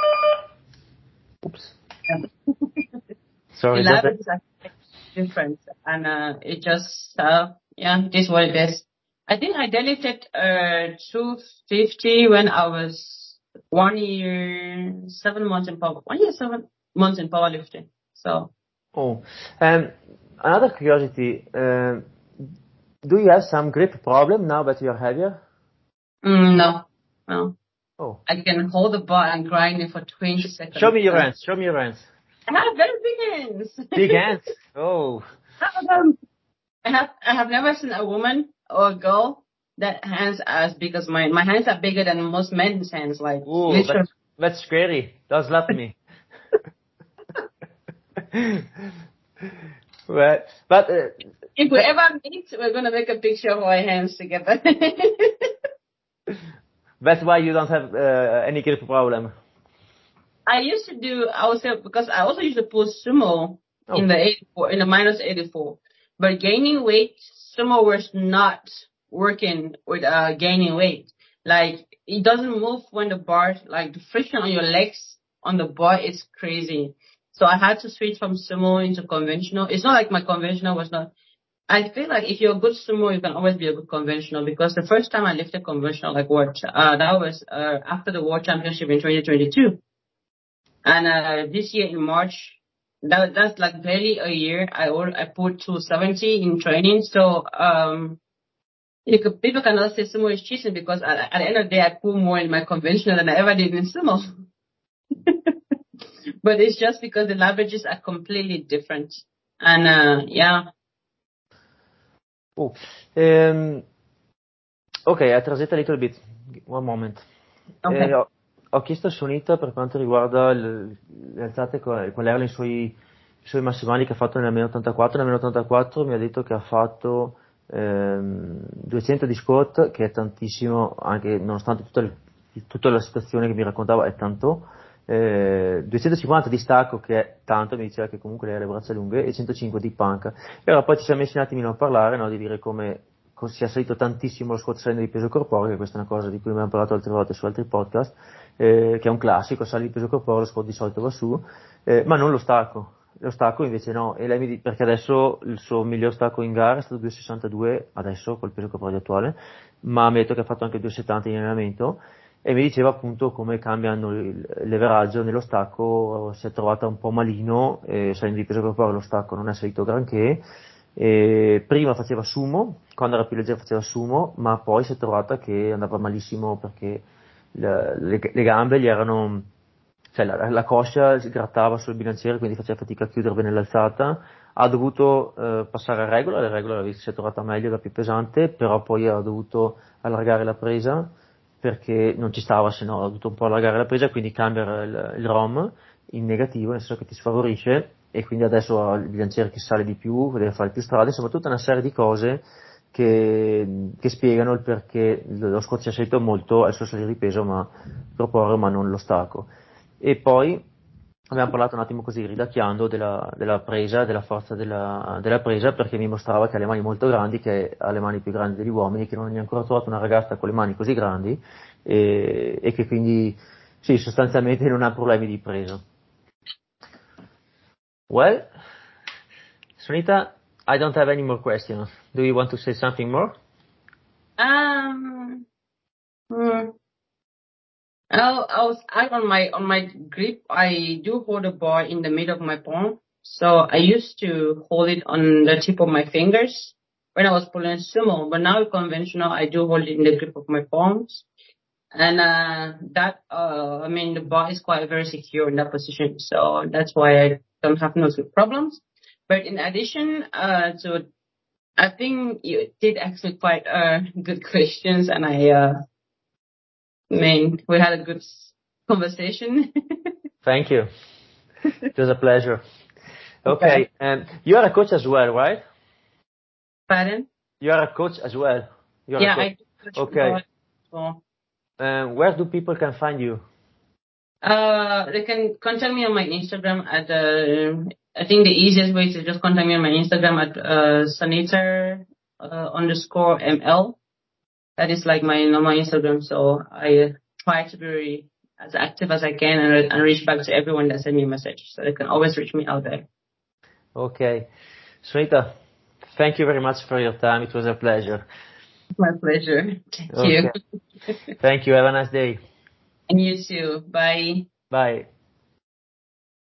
Oops. yeah. Sorry, The just levels are different, and uh, it just uh, yeah, it is what it is. I think I deadlifted uh two fifty when I was one year seven months in power, one year seven months in powerlifting. So. Oh, um, another curiosity. Uh, do you have some grip problem now that you are heavier? Mm, no, no. Oh. I can hold the bar and grind it for twenty seconds. Show me your hands. Show me your hands. I have very big hands. Big hands. Oh. Um, I have I have never seen a woman or a girl that hands as big as mine. My hands are bigger than most men's hands, like Ooh, literally. that's, that's scary. Don't slap me. but but uh, If we ever meet, we're gonna make a picture of our hands together. that's why you don't have uh, any grip problem. I used to do, I would say, because I also used to pull sumo Oh. in the eighty-four, in the minus eighty-four. But gaining weight, sumo was not working with uh, gaining weight. Like, it doesn't move when the bar, like the friction on your legs on the bar is crazy. So I had to switch from sumo into conventional. It's not like my conventional was not, I feel like if you're a good sumo, you can always be a good conventional, because the first time I lifted conventional, like what, uh, that was, uh, after the World Championship in twenty twenty-two. And, uh, this year in March, that, that's like barely a year, I or, I put two seventy in training. So, um, you could, people cannot say sumo is cheating, because at, at the end of the day, I pull more in my conventional than I ever did in sumo. But it's just because the leverages are completely different. And, uh, yeah. Oh. Um, okay, I translate a little bit. One moment. Okay. Eh, ho, ho chiesto a Sunita per quanto riguarda il, le alzate, quali erano i suoi, i suoi massimali che ha fatto nel ottantaquattro. Nel ottantaquattro mi ha detto che ha fatto ehm, duecento di squat, che è tantissimo, anche nonostante tutta, il, tutta la situazione che mi raccontava è tanto. Eh, duecentocinquanta di stacco, che è tanto, mi diceva che comunque lei ha le braccia lunghe, e centocinque di panca. E allora poi ci siamo messi un attimino a parlare, no, di dire come sia salito tantissimo lo squat salendo di peso corporeo, che questa è una cosa di cui abbiamo parlato altre volte su altri podcast, eh, che è un classico, sali di peso corporeo, lo squat di solito va su, eh, ma non lo stacco. Lo stacco invece no, e lei mi dice, perché adesso il suo miglior stacco in gara è stato due virgola sessantadue, adesso col peso corporeo attuale, ma ammetto che ha fatto anche due virgola settanta in allenamento, e mi diceva appunto come cambiano il leveraggio nello stacco, si è trovata un po' malino, eh, salendo di peso corporeo lo stacco non è salito granché, e prima faceva sumo, quando era più leggera faceva sumo, ma poi si è trovata che andava malissimo perché le, le, le gambe gli erano, cioè la, la coscia si grattava sul bilanciere, quindi faceva fatica a chiudere bene l'alzata, ha dovuto eh, passare a regola, la regola si è trovata meglio, era più pesante, però poi ha dovuto allargare la presa perché non ci stava, se no ha dovuto un po' allargare la presa, quindi cambiare il, il ROM in negativo, nel senso che ti sfavorisce, e quindi adesso ha il bilanciere che sale di più, deve fare più strade, insomma tutta una serie di cose che, che spiegano il perché lo squat sia salito molto al suo salire di peso, ma corporeo, ma non lo stacco. E poi abbiamo parlato un attimo così, ridacchiando, della, della presa, della forza della, della presa, perché mi mostrava che ha le mani molto grandi, che ha le mani più grandi degli uomini, che non ha ancora trovato una ragazza con le mani così grandi, e, e che quindi, sì, sostanzialmente non ha problemi di presa. Well, Sunita, I don't have any more questions. Do you want to say something more? Um, hmm. Oh, I was I on my on my grip. I do hold a bar in the middle of my palm, so I used to hold it on the tip of my fingers when I was pulling sumo. But now conventional, I do hold it in the grip of my palms, and uh, that uh, I mean the bar is quite very secure in that position, so that's why I don't have no problems. But in addition, uh, to I think you did ask me quite uh, good questions, and I. Uh, I mean, we had a good conversation. Thank you. It was a pleasure. Okay, Okay. and you are a coach as well, right? Pardon? You are a coach as well. You are Yeah, a coach. I do coach Okay. football as well. Uh, where do people can find you? Uh, they can contact me on my Instagram at uh, I think the easiest way is to just contact me on my Instagram at uh, Sanita uh, underscore ml. That is like my normal Instagram. So I uh, try to be as active as I can and, and reach back to everyone that send me a message. So they can always reach me out there. Okay. Sunita, thank you very much for your time. It was a pleasure. My pleasure. Thank Okay. you. Thank you. Have a nice day. And you too. Bye. Bye.